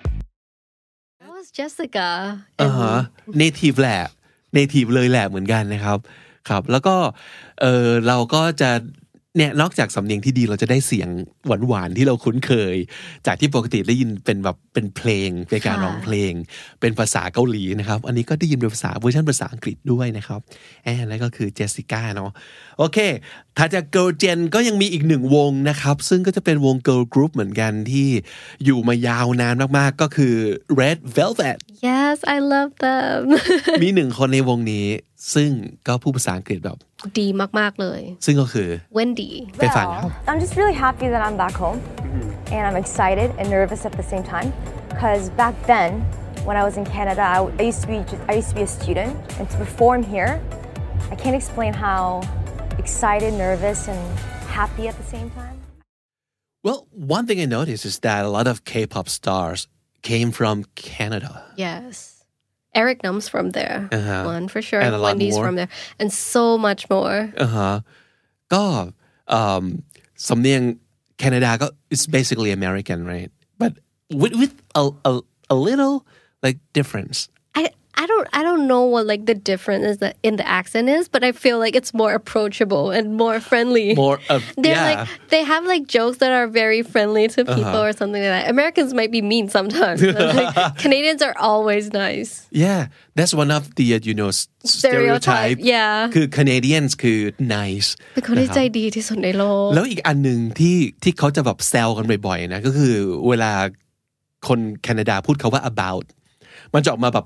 That was Jessica native แหละ native เลยแหละเหมือนกันนะครับครับแล้วก็เราก็จะเนี่ยนอกจากสำเนียงที่ดีเราจะได้เสียงหวานๆที่เราคุ้นเคยจากที่ปกติได้ยินเป็นแบบเป็นเพลงเป็นการร้องเพลงเป็นภาษาเกาหลีนะครับอันนี้ก็ได้ยินเป็นภาษาเวอร์ชันภาษาอังกฤษด้วยนะครับแล้วก็คือเจสสิก้าเนาะโอเคถ้าจาก Girl Gen ก็ยังมีอีกหนึ่งวงนะครับซึ่งก็จะเป็นวง Girl Group เหมือนกันที่อยู่มายาวนานมากๆก็คือ Red Velvet Yes I love them มีหนึ่งคนในวงนี้ซึ่งก็พูดภาษาอังกฤษแบบดีมากๆเลยซึ่งก็คือ Wendy ไปฟังครับ I'm just really happy that I'm back home and I'm excited and nervous at the same time because back then when I was in Canada I used to be a student and to perform here I can't explain how excited nervous and happy at the same time Well one thing I noticed is that a lot of K-pop stars came from Canada Yes Eric Nam's from there one for sure and Wendy's from there and so much more ก็สำเนียงแคนาดาก็ it's basically American right but with a little like difference I don't know what like the difference is that in the accent is, but I feel like it's more approachable and more friendly. More they have like jokes that are very friendly to people or something like that. Americans might be mean sometimes, but like, Canadians are always nice. Yeah, that's one of the stereotype. Yeah. คือ Canadians คือ nice เป็นคนที่ใจดีที่สุดในโลกแล้วอีกอันนึงที่เขาจะแบบแซวกันบ่อยๆนะก็คือเวลาคนแคนาดาพูดคาว่า about มันจะออกมาแบบ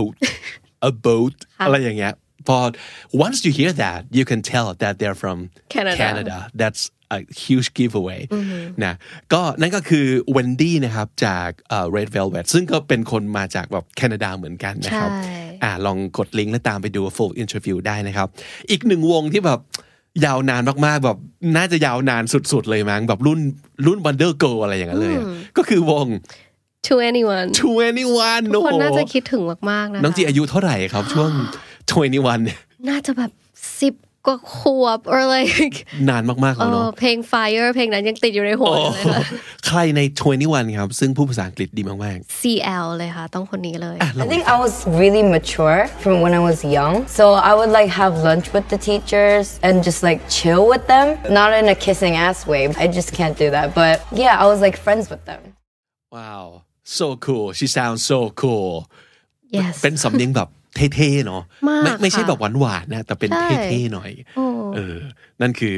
about อะไรอย่างเงี้ยพอ once you hear that you can tell that they're from Canada that's a huge giveaway นะก็นั่นก็คือ Wendy นะครับจาก Red Velvet ซึ่งก็เป็นคนมาจากแบบแคนาดาเหมือนกันนะครับลองกดลิงก์แล้วตามไปดู full interview ได้นะครับอีกหนึ่งวงที่แบบยาวนานมากๆแบบน่าจะยาวนานสุดๆเลยมั้งแบบรุ่น Wonder Girl อะไรอย่างเงี้ยเลยก็คือวง To anyone ทุกคนน่าจะคิดถึงมากๆนะน้องจีอายุเท่าไหร่ครับช่วง21เนี่ยน่าจะแบบ10กว่าขวบ or like นานมากๆแล้วเนาะเพลง Fire เพลงนั้นยังติดอยู่ในหัวเลยค่ะใครใน21ครับซึ่งพูดภาษาอังกฤษดีมากๆ CL เลยค่ะต้องคนนี้เลย I think I was really mature from when I was young so I would like have lunch with the teachers and just like chill with them not in a kissing ass way I just can't do that but yeah I was like friends with them Wow so cool she sounds so cool yes เป็นสำเนียงแบบเท่ๆเนาะไม่ใช่แบบหวานๆนะแต่เป็นเท่ๆหน่อยนั่นคือ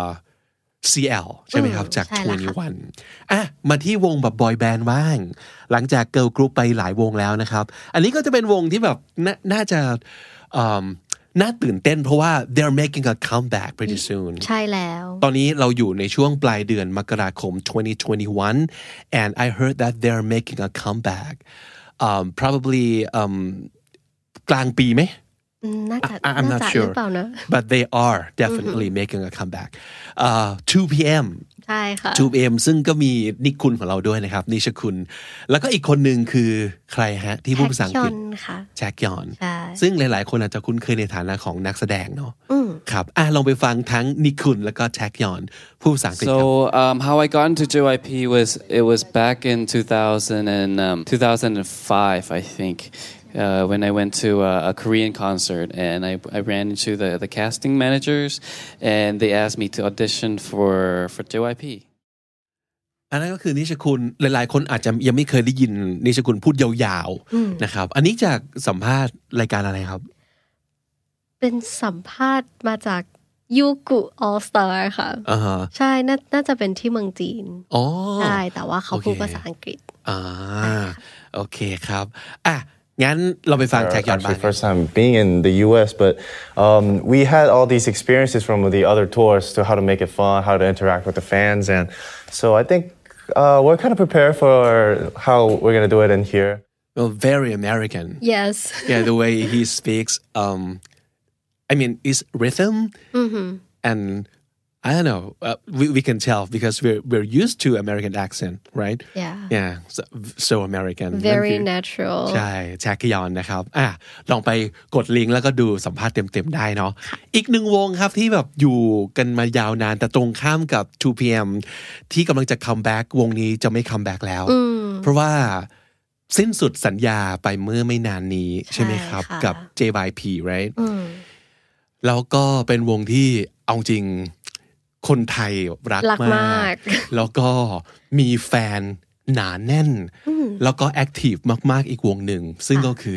CL ใช่ไหมครับจาก21มาที่วงแบบบอยแบนด์บ้างหลังจากเกิร์ลกรุ๊ปไปหลายวงแล้วนะครับอันนี้ก็จะเป็นวงที่แบบน่าจะน่าตื่นเต้นเพราะว่า they're making a comeback pretty soon ใช่แล้วตอนนี้เราอยู่ในช่วงปลายเดือนมกราคม2021 and I heard that they're making a comeback probably กลางปีไหมI'm not sure but they are definitely making a comeback 2 p.m. ใช่ค่ะ 2 p.m. ซึ่งก็มีนิคุณของเราด้วยนะครับนิชคุณแล้วก็อีกคนหนึ่งคือใครฮะที่พูดภาษาอังกฤษแจ็คยอนซึ่งหลายๆคนอาจจะคุ้นเคยในฐานะของนักแสดงเนาะครับลองไปฟังทั้งนิคุณแล้วก็แจ็คยอนพูดภาษาอังกฤษ So how I got into JYP was back in 2005 I think when I went to a Korean concert and I ran into the casting managers and they asked me to audition for JYP อันนั้นก็คือนิชคุณหลายๆคนอาจจะยังไม่เคยได้ยินนิชคุณพูดยาวๆนะครับอันนี้จากสัมภาษณ์รายการอะไรครับเป็นสัมภาษณ์มาจากยูกุ All Star ค่ะใช่น่าจะเป็นที่เมืองจีนใช่แต่ว่าเขาพูดภาษาอังกฤษโอเคครับงั้นเราไปฟังแจ็คยอนบ้าง First time being in the US but we had all these experiences from the other tours to how to make it fun how to interact with the fans and so I think we're kind of prepared for how we're going to do it in here well very American yes yeah the way he speaks I mean it's rhythm and I don't know we can tell because we're used to American accent right yeah so American very natural ใช่แจ็คยอนนะครับลองไปกดลิงก์แล้วก็ดูสัมภาษณ์เต็มๆได้เนาะอีกหนึ่งวงครับที่แบบอยู่กันมายาวนานแต่ตรงข้ามกับ 2PM ที่กำลังจะคัมแบ็กวงนี้จะไม่คัมแบ็กแล้วเพราะว่าสิ้นสุดสัญญาไปเมื่อไม่นานนี้ใช่ไหมครับกับ JYP right แล้วก็เป็นวงที่เอาจริงคนไทยรักมากแล้วก็มีแฟนหนาแน่นแล้วก็แอคทีฟมากๆอีกวงหนึ่งซึ่งก็คือ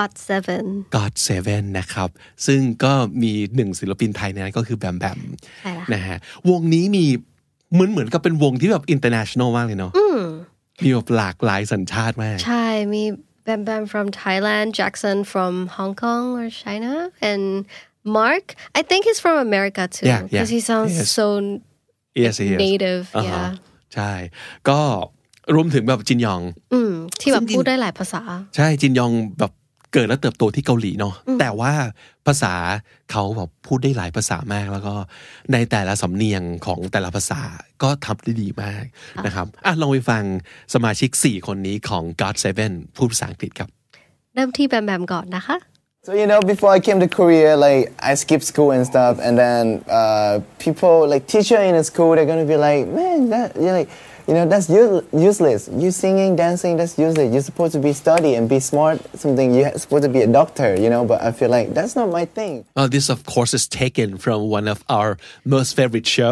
GOT7 นะครับซึ่งก็มีหนึ่งศิลปินไทยนั้นก็คือแบมแบมนะฮะวงนี้มีเหมือนกับเป็นวงที่แบบ international มากเลยเนาะมีแบบหลากหลายสัญชาติมากใช่มีแบมแบม from Thailand Jackson from Hong Kong or China and Mark I think he's from America too because he sounds so native ใช่ก็รวมถึงแบบจินยองที่แบบพูดได้หลายภาษาใช่จินยองแบบเกิดและเติบโตที่เกาหลีเนาะแต่ว่าภาษาเขาแบบพูดได้หลายภาษามากแล้วก็ในแต่ละสำเนียงของแต่ละภาษาก็ทำได้ดีมากนะครับลองไปฟังสมาชิก4คนนี้ของ GOT7 พูดภาษาอังกฤษครับเริ่มที่แบมแบมก่อนนะคะ So before I came to Korea, like I skipped school and stuff, and then people like teacher in the school, they're gonna be like, man, You know, that's useless. You singing, dancing, that's useless. You're supposed to be study and be smart, something. You're supposed to be a doctor, you know, but I feel like that's not my thing. This, of course, is taken from one of our most favorite show,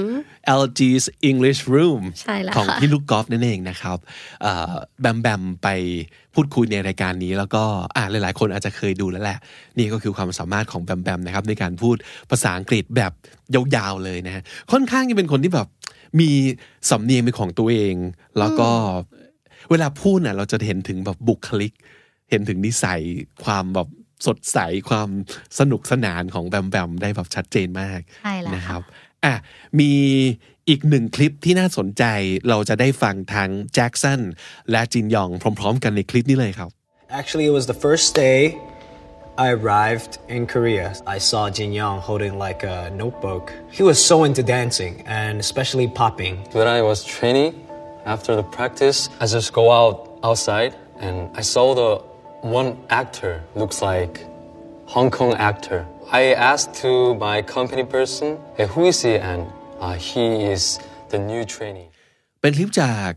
LG's English Room ใช่แล้วของค่ะพี่ลูกกอล์ฟนั่นเองนะครับแบมแบมไปพูดคุยในรายการนี้แล้วก็หลายๆคนอาจจะเคยดูแล้วแหละนี่ก็คือความสามารถของแบมแบมนะครับในการพูดภาษาอังกฤษแบบยาวๆเลยนะฮะค่อนข้างจะเป็นคนที่แบบมีสำเนียงเป็นของตัวเองแล้วก็เวลาพูดน่ะเราจะเห็นถึงแบบบุคลิกเห็นถึงนิสัยความแบบสดใสความสนุกสนานของแบมแบมได้แบบชัดเจนมากใช่แล้วนะครับมีอีกหนึ่งคลิปที่น่าสนใจเราจะได้ฟังทั้งแจ็คสันและจินยองพร้อมๆกันในคลิปนี้เลยครับ Actually, it was the first day I arrived in Korea. I saw Jin Young holding like a notebook. He was so into dancing and especially popping. When I was training, after the practice, I just go outside and I saw the one actor looks like Hong Kong actor. I asked to my company person, hey, who is he? And he is the new trainee. เป็นคลิปจาก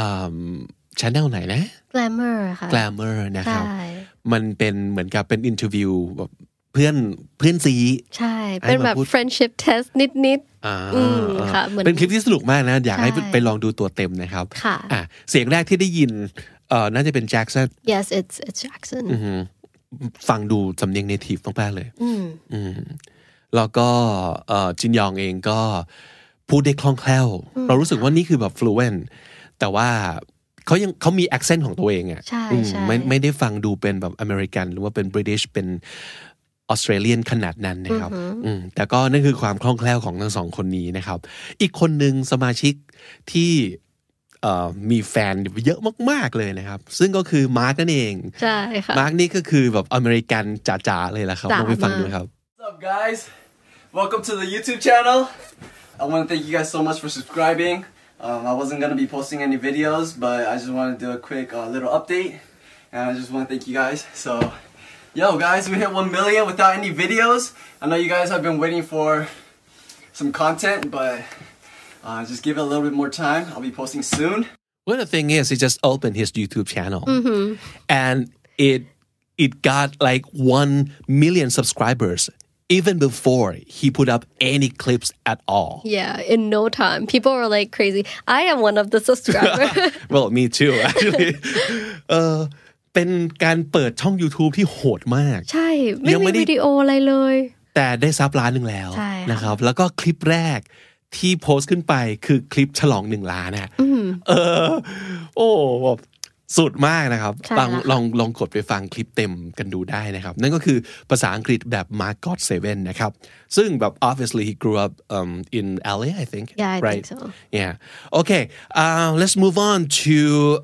channel ไหนนะ Glamour ค่ะ Glamour นะครับใช่มันเป็นเหมือนกับเป็นอินเทอร์วิวแบบเพื่อนซีใช่เป็นแบบ friendship test นิดๆค่ะเหมือนเป็นคลิปที่สนุกมากนะอยากให้ใช่ไปลองดูตัวเต็มนะครับค่ะเสียงแรกที่ได้ยินน่าจะเป็นแจ็คสัน yes it's Jackson ฟังดูสำเนียง native มากๆเลยแล้วก็จินยองเองก็พูดได้คล่องแคล่วเรารู้สึกว่านี่คือแบบ fluent แต่ว่าเขามี accent ของตัวเองอ่ะใช่ไม่ได้ฟังดูเป็นแบบอเมริกันหรือว่าเป็น British เป็นออสเตรเลียนขนาดนั้นนะครับแต่ก็นั่นคือความคล่องแคล่วของทั้งสองคนนี้นะครับอีกคนหนึ่งสมาชิกที่มีแฟนเยอะมากๆเลยนะครับซึ่งก็คือมาร์กนั่นเองใช่ค่ะมาร์กนี่ก็คือแบบอเมริกันจ๋าๆเลยละครับลองไปฟังดูครับ What's up guys welcome to the YouTube channel I want to thank you guys so much for subscribing I wasn't going to be posting any videos but I just want to do a quick little update and I just want to thank you guys so yo guys we hit 1 million without any videos I know you guys have been waiting for some content but just give it a little bit more time. I'll be posting soon. Well, the thing is, he just opened his YouTube channel, and it got like 1 million subscribers even before he put up any clips at all. Yeah, in no time. People were like crazy. I am one of the subscribers. Well, me too, actually. เป็นการเปิดช่อง YouTube ที่โหดมากใช่ไม่มีวิดีโออะไรเลยแต่ได้ซับล้านหนึ่งแล้วนะครับแล้วก็คลิปแรกที่โพสต์ขึ้นไปคือคลิปฉลอง1 ล้านนะโอ้แบบสุดมากนะครับลองกดไปฟังคลิปเต็มกันดูได้นะครับนั่นก็คือภาษาอังกฤษแบบ Mark God 7 นะครับซึ่งแบบ obviously he grew up in LA I think yeah I right? think so yeah okay let's move on to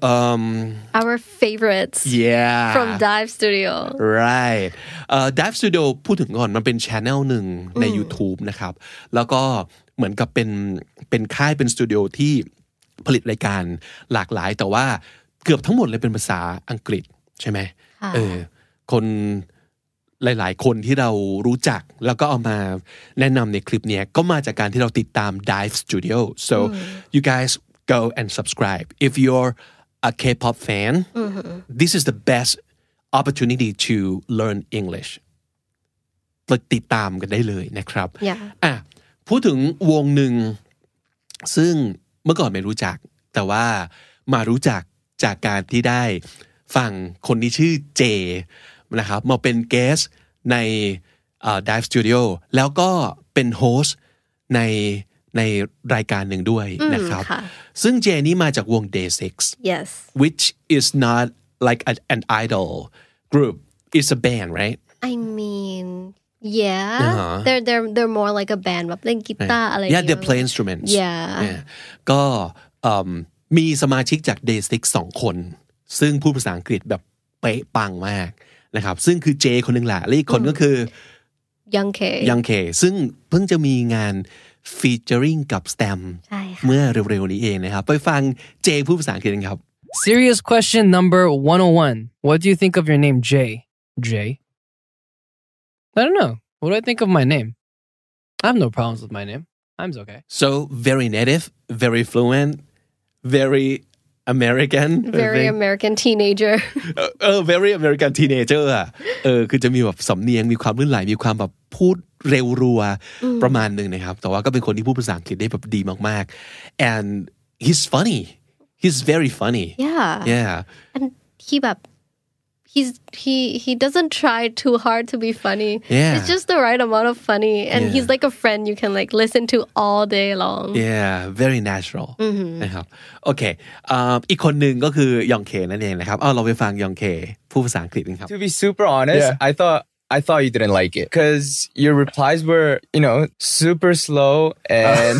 our favorites from Dive Studio right Dive Studio พูดถึงก่อนมันเป็น channel หนึ่งใน YouTube นะครับแล้วก็เหมือนกับเป็นค่ายเป็นสตูดิโอที่ผลิตรายการหลากหลายแต่ว่าเกือบทั้งหมดเลยเป็นภาษาอังกฤษใช่ไหมคนหลายๆคนที่เรารู้จักแล้วก็เอามาแนะนำในคลิปเนี้ยก็มาจากการที่เราติดตาม Dive Studio so you guys go and subscribe if you're a K-pop fan this is the best opportunity to learn English ติดตามกันได้เลยนะครับพูดถึงวงหนึ่งซึ่งเมื่อก่อนไม่รู้จักแต่ว่ามารู้จักจากการที่ได้ฟังคนที่ชื่อเจนะครับมาเป็นเกสในDive Studio แล้วก็เป็นโฮสต์ในรายการหนึ่งด้วยนะครับซึ่งเจนี่มาจากวง Day6 yes which is not like an idol group it's a band right I mean yeah they're more like a band แบบเล่นกีตาร์อะไร yeah they play instruments yeah ก็มีสมาชิกจาก Day6 2 คนซึ่งพูดภาษาอังกฤษแบบเป๊ะปังมากนะครับซึ่งคือเจคนหนึ่งแหละและอีกคนก็คือ Young K ซึ่งเพิ่งจะมีงาน featuring กับ Stam เมื่อเร็วๆนี้เองนะครับไปฟังเจพูดภาษาอังกฤษกันครับ Serious question number 101 What do you think of your name Jay? I don't know. What do I think of my name? I have no problems with my name. I'm okay. So very native, very fluent, very American very American teenager very American teenager อ่ะคือจะมีแบบสำเนียงมีความลื่นไหลมีความแบบพูดเร็วรัวประมาณนึงนะครับแต่ว่าก็เป็นคนที่พูดภาษาอังกฤษได้แบบดีมากๆ and he's very funny yeah and he doesn't try too hard to be funny it's just the right amount of funny and he's like a friend you can like listen to all day long very natural นะครับโอเคอีกคนหนึ่งก็คือยองเคนั่นเองนะครับเราไปฟังยองเคพูดภาษาอังกฤษกันครับ To be super honest I thought you didn't like it because your replies were super slow and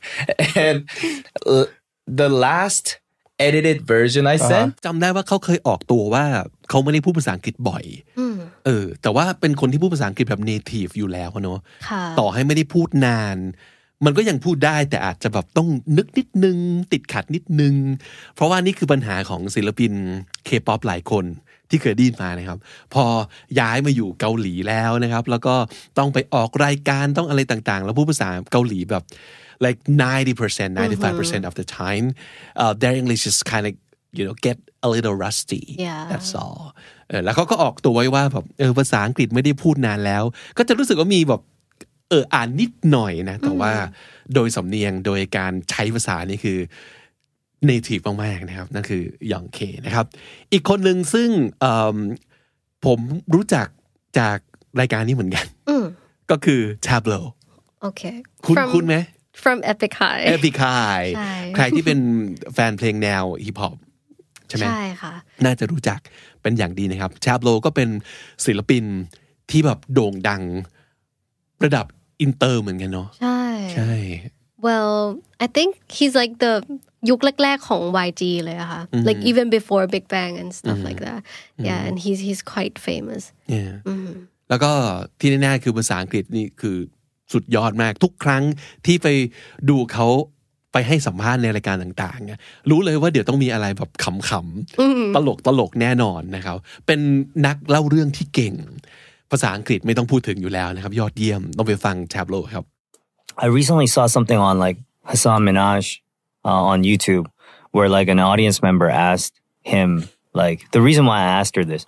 the last edited version I sent จำได้ว่าเขาเคยออกตัวว่าเขาไม่ได้พูดภาษาอังกฤษบ่อยแต่ว่าเป็นคนที่พูดภาษาอังกฤษแบบ native อยู่แล้วเนาะต่อให้ไม่ได้พูดนานมันก็ยังพูดได้แต่อาจจะแบบต้องนึกนิดนึงติดขัดนิดนึงเพราะว่านี่คือปัญหาของศิลปิน K-pop หลายคนที่เคยได้ยินมานะครับพอย้ายมาอยู่เกาหลีแล้วนะครับแล้วก็ต้องไปออกรายการต้องอะไรต่างๆแล้วพูดภาษาเกาหลีแบบlike 90%, 95% of the time, their English is kind of, get a little rusty. That's all. แล้วเขาก็ออกตัวไว้ว่าแบบภาษาอังกฤษไม่ได้พูดนานแล้วก็จะรู้สึกว่ามีแบบอ่านนิดหน่อยนะแต่ว่าโดยสำเนียงโดยการใช้ภาษานี่คือ native มากๆนะครับนั่นคือยองเคนะครับอีกคนหนึ่งซึ่งผมรู้จักจากรายการนี้เหมือนกันก็คือ Tableau โอเคคุณไหม From Epic High ใครที่เป็นแฟนเพลงแนวฮิปฮอปใช่ไหมใช่ค่ะน่าจะรู้จักเป็นอย่างดีนะครับ Tableau ก็เป็นศิลปินที่แบบโด่งดังระดับอินเตอร์เหมือนกันเนาะใช่ Well I think he's like the ยุคแรกๆของ YG เลยอะค่ะ like even before Big Bang and stuff like that and he's quite famous แล้วก็ที่แน่ๆคือภาษาอังกฤษนี่คือสุดยอดมากทุกครั้งที่ไปดูเขาไปให้สัมภาษณ์ในรายการต่างๆรู้เลยว่าเดี๋ยวต้องมีอะไรแบบขำๆตลกแน่นอนนะครับเป็นนักเล่าเรื่องที่เก่งภาษาอังกฤษไม่ต้องพูดถึงอยู่แล้วนะครับยอดเยี่ยมต้องไปฟัง Tableau ครับ I recently saw something on like Hasan Minhaj on YouTube where like an audience member asked him like the reason why I asked her this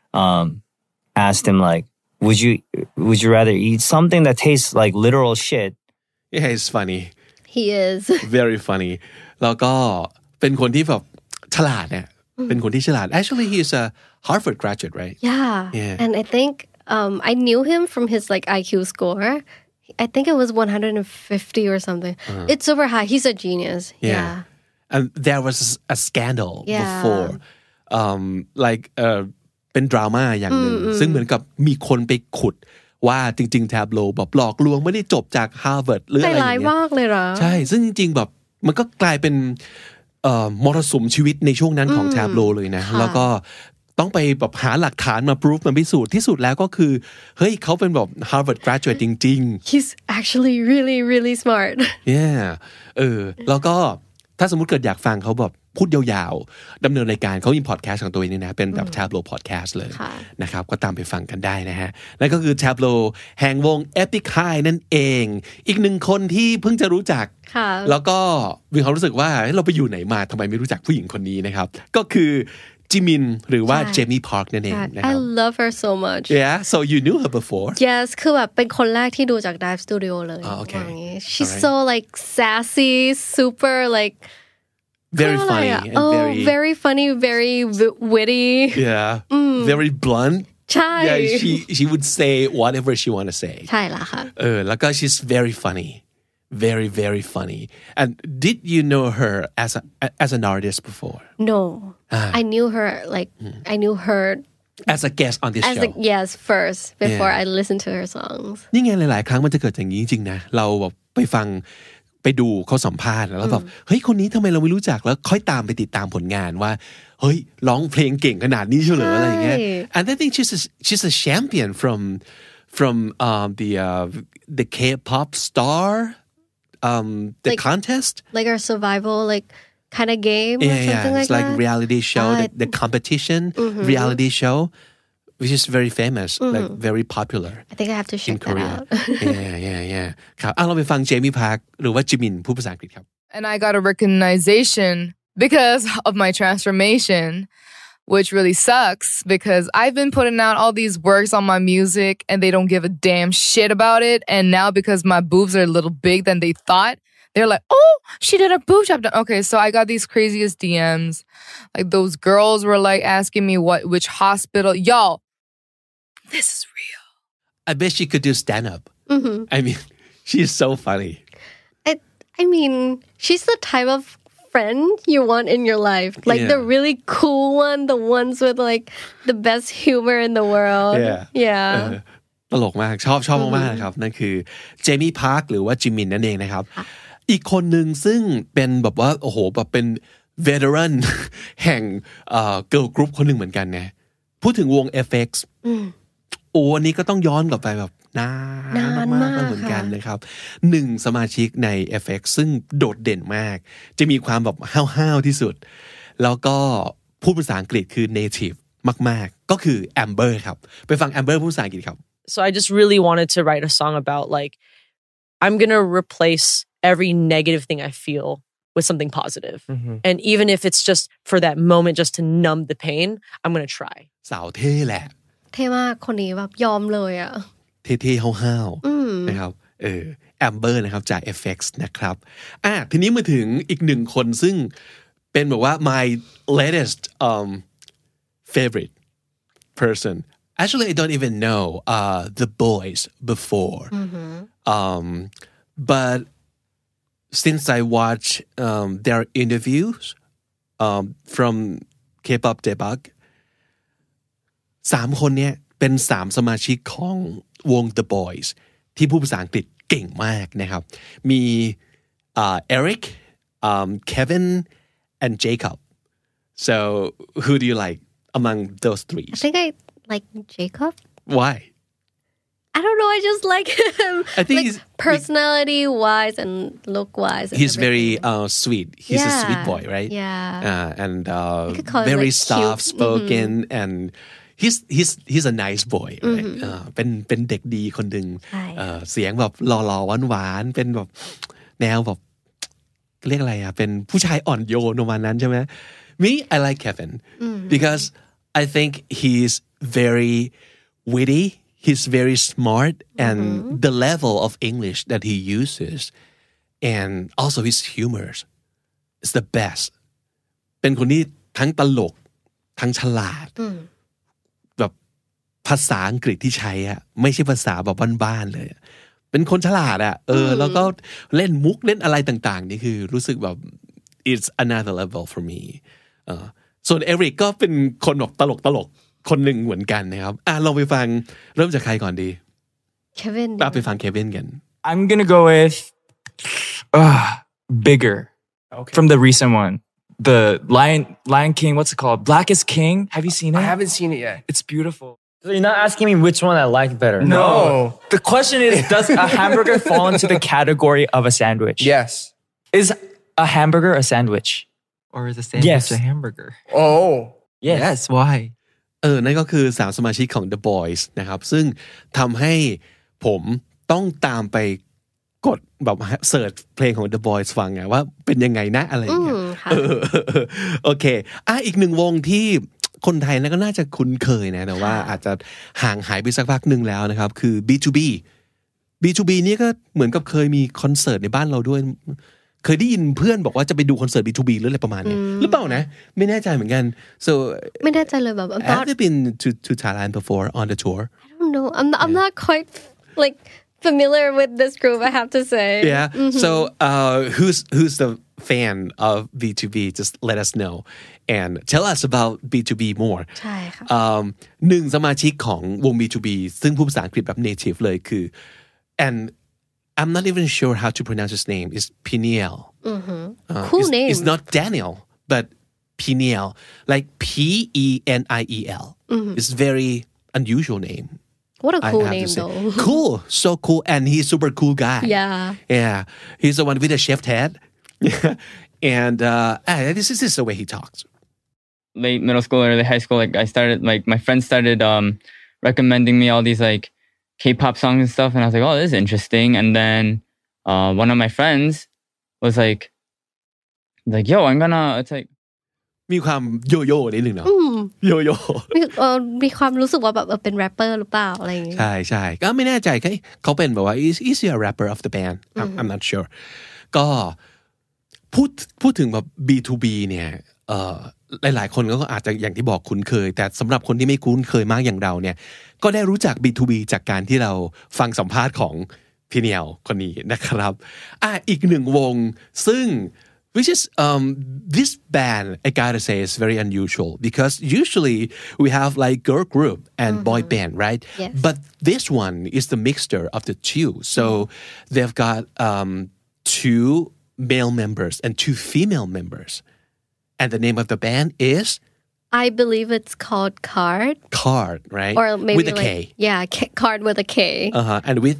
asked him like would you rather eat something that tastes like literal shit? Yeah, he's funny. He is. Very funny. แล้วก็เป็นคนที่แบบฉลาดเนี่ยเป็นคนที่ฉลาด Actually, he's a Harvard graduate, right? Yeah. And I think I knew him from his like IQ score. I think it was 150 or something. It's super high. He's a genius. Yeah. And there was a scandal before. Likeเป็นดราม่าอย่างหนึ่งซึ่งเหมือนกับมีคนไปขุดว่าจริงๆ Tableau แบบหลอกลวงไม่ได้จบจาก Harvard หรืออะไรอย่างเงี้ยมากเลยเหรอใช่ซึ่งจริงๆแบบมันก็กลายเป็นมรสุมชีวิตในช่วงนั้นของ Tableau เลยนะแล้วก็ต้องไปแบบหาหลักฐานมา proof มาพิสูจน์ที่สุดแล้วก็คือเฮ้ยเขาเป็นแบบ Harvard graduate จริงๆ He's actually really really smart Yeah แล้วก็ถ้าสมมุติเกิดอยากฟังเขาแบบพูดยาวๆดำเนินรายการเขามีพอดแคสต์ของตัวเองนี่นะเป็นแบบ Tableau podcast เลยนะครับก็ตามไปฟังกันได้นะฮะนั่นก็คือ Tableau แห่งวง Epic High นั่นเองอีกหนึ่งคนที่เพิ่งจะรู้จักแล้วก็มีความรู้สึกว่าเราไปอยู่ไหนมาทำไมไม่รู้จักผู้หญิงคนนี้นะครับก็คือจิมินหรือว่าเจมี่พาร์คนั่นเองนะครับ I love her so much Yeah so you knew her before Yes คือแบบเป็นคนแรกที่ดูจาก Dive Studio เลย Okay She's so like sassy super like very funny and very funny very witty very blunt ใช่ Yeah she would say whatever she want to say ใช่ละค่ะแล้วก็ she's very funny very very funny and did you know her as an artist before No I knew her like I knew her as a guest on this show yes first before I listened to her songs นี่ไงหลายๆครั้งมันจะเกิดอย่างนี้จริงๆนะเราแบบไปฟังไปดูเขาสัมภาษณ์แล้วแบบเฮ้ยคนนี้ทำไมเราไม่รู้จักแล้วค่อยตามไปติดตามผลงานว่าเฮ้ยร้องเพลงเก่งขนาดนี้เฉลยอะไรอย่างเงี้ย and I think she's a champion from the K-pop star the like, contest like our survival like kind of game or something like that it's like reality show the competition reality show which is very famous like very popular I think I have to check that out yeah ครับเราไปฟังเจมี่พาร์คหรือว่าจิมินพูดภาษาอังกฤษครับ And I got a recognition because of my transformation, which really sucks because I've been putting out all these works on my music and they don't give a damn shit about it. And now because my boobs are a little big than they thought, they're like, oh, she did a boob job. Okay, so I got these craziest DMs. Like those girls were like asking me which hospital. Y'all, this is real. I bet she could do stand-up. Mm-hmm. I mean, she's so funny. I mean, she's the type of friend you want in your life. Like Yeah. the really cool one, the ones with like the best humor in the world. Yeah. ตลกมากชอบมากๆนะครับนั่นคือเจมี่พาร์คหรือว่าจิมมินนั่นเองนะครับอีกคนหนึ่งซึ่งเป็นแบบว่าโอ้โหแบบเป็น veteran แห่งgirl group คนหนึ่งเหมือนกันนะพูดถึงวง FX โอ้อันนี้ก็ต้องย้อนกลับไปแบบนานมากๆเหมือนกันนะครับหนึ่งสมาชิกใน FX ซึ่งโดดเด่นมากจะมีความแบบห้าวๆที่สุดแล้วก็พูดภาษาอังกฤษคือ native มากๆก็คือ Amber ครับไปฟัง Amber พูดภาษาอังกฤษครับ So I just really wanted to write a song about like I'm gonna replace every negative thing I feel with something positive. And even if it's just for that moment just to numb the pain, I'm gonna try. สาวเท่แหละเท่มากคนนี้แบบยอมเลยอ่ะเท่ๆห้าวๆนะครับAmber นะครับจาก FX นะครับทีนี้มาถึงอีกหนึ่งคนซึ่งเป็นแบบว่า my latest favorite person actually I don't even know the boys before but since I watch their interviews from K-pop debug 3 คนเนี้ยเป็น3 สมาชิกของวง The Boys ที่พูดภาษาอังกฤษเก่งมากนะครับมีEric Kevin and Jacob so who do you like among those 3 I think I like Jacob. Why? I don't know. I just like him. I think like he's personality wise and look wise. He's very sweet. He's a sweet boy, right? Yeah. And could call him, very like, soft cute. spoken and he's a nice boy, right? เป็นเด็กดีคนหนึ่งเสียงแบบหล่อๆหวานๆเป็นแบบแนวแบบเรียกอะไรเป็นผู้ชายอ่อนโยนประมาณนั้นใช่ไหม Me I like Kevin because I think he's very witty, he's very smart and the level of English that he uses and also his humor is the best เป็นคนที่ทั้งตลกทั้งฉลาดแบบภาษาอังกฤษที่ใช้อะไม่ใช่ภาษาแบบบ้านๆเลยเป็นคนฉลาดอะแล้วก็เล่นมุกเล่นอะไรต่างๆนี่คือรู้สึกแบบ it's another level for me ส่วนเอริกก็เป็นคนแบบตลกคนหนึ่งเหมือนกันนะครับเราไปฟังเริ่มจากใครก่อนดี Kevin ไปฟังเควินกัน I'm gonna go with Bigger from the recent one. The Lion King, what's it called? Black is King. Have you seen it? I haven't seen it yet. It's beautiful. So you're not asking me which one I like better. No. The question is, does a hamburger fall into the category of a sandwich? Yes. Is a hamburger a sandwich? Or is a sandwich a hamburger? Oh. Yes. Why? นั่นก็คือ3 สมาชิกของ The Boys นะครับซึ่งทำให้ผมต้องตามไปกดแบบเสิร์ชเพลงของ The Boys ฟังไงว่าเป็นยังไงนะอะไรอย่างเงี้ยโอเคอีกหนึ่งวงที่คนไทยก็น่าจะคุ้นเคยนะแต่ว่าอาจจะห่างหายไปสักพักหนึ่งแล้วนะครับคือ B2B B2B นี่ก็เหมือนกับเคยมีคอนเสิร์ตในบ้านเราด้วยเคยได้ยินเพื่อนบอกว่าจะไปดูคอนเสิร์ต B2B หรืออะไรประมาณนี้หรือเปล่านะไม่แน่ใจเหมือนกัน so ไม่แน่ใจเลยแบบ Have you been to Thailand before on the tour? I don't know. I'm not quite like familiar with this group, I have to say. Yeah. So who's the fan of B2B? Just let us know and tell us about B2B more. ใช่ค่ะ 1 สมาชิกของวง B2B ซึ่งพูดภาษาอังกฤษแบบ native เลยคือ and I'm not even sure how to pronounce his name. It's Peniel. Cool name. It's not Daniel, but Peniel, like Peniel. It's very unusual name. What a cool I have name, to say. though. Cool, so cool, and he's super cool guy. Yeah. He's the one with the shaved head, and this is the way he talks. Late middle school, early high school, like I started, like my friends started recommending me all these like K-pop songs and stuff, and I was like, oh, this is interesting. And then one of my friends was like, like, yo, I'm gonna. It's like มีความโยโย่นิดนึงเนาะโยโย่มีความรู้สึกว่าแบบเป็นแรปเปอร์หรือเปล่าอะไรอย่างเงี้ยใช่ก็ไม่แน่ใจเขาเป็นแบบว่า is he a rapper of the band I'm not sure ก็พูดถึงแบบ B2B เนี่ยหลายๆคนก็อาจจะอย่างที่บอกคุ้นเคยแต่สำหรับคนที่ไม่คุ้นเคยมากอย่างเราเนี่ยก็ได้รู้จัก B2B จากการที่เราฟังสัมภาษณ์ของพี่เนียวคนนี้นะครับอีกหนึ่งวงซึ่งwhich is this band I gotta say is very unusual because usually we have like girl group and boy band right yes. but this one is the mixture of the two so they've got two male members and two female members and the name of the band is I believe it's called Card right or maybe with a like, K yeah Card with a K and with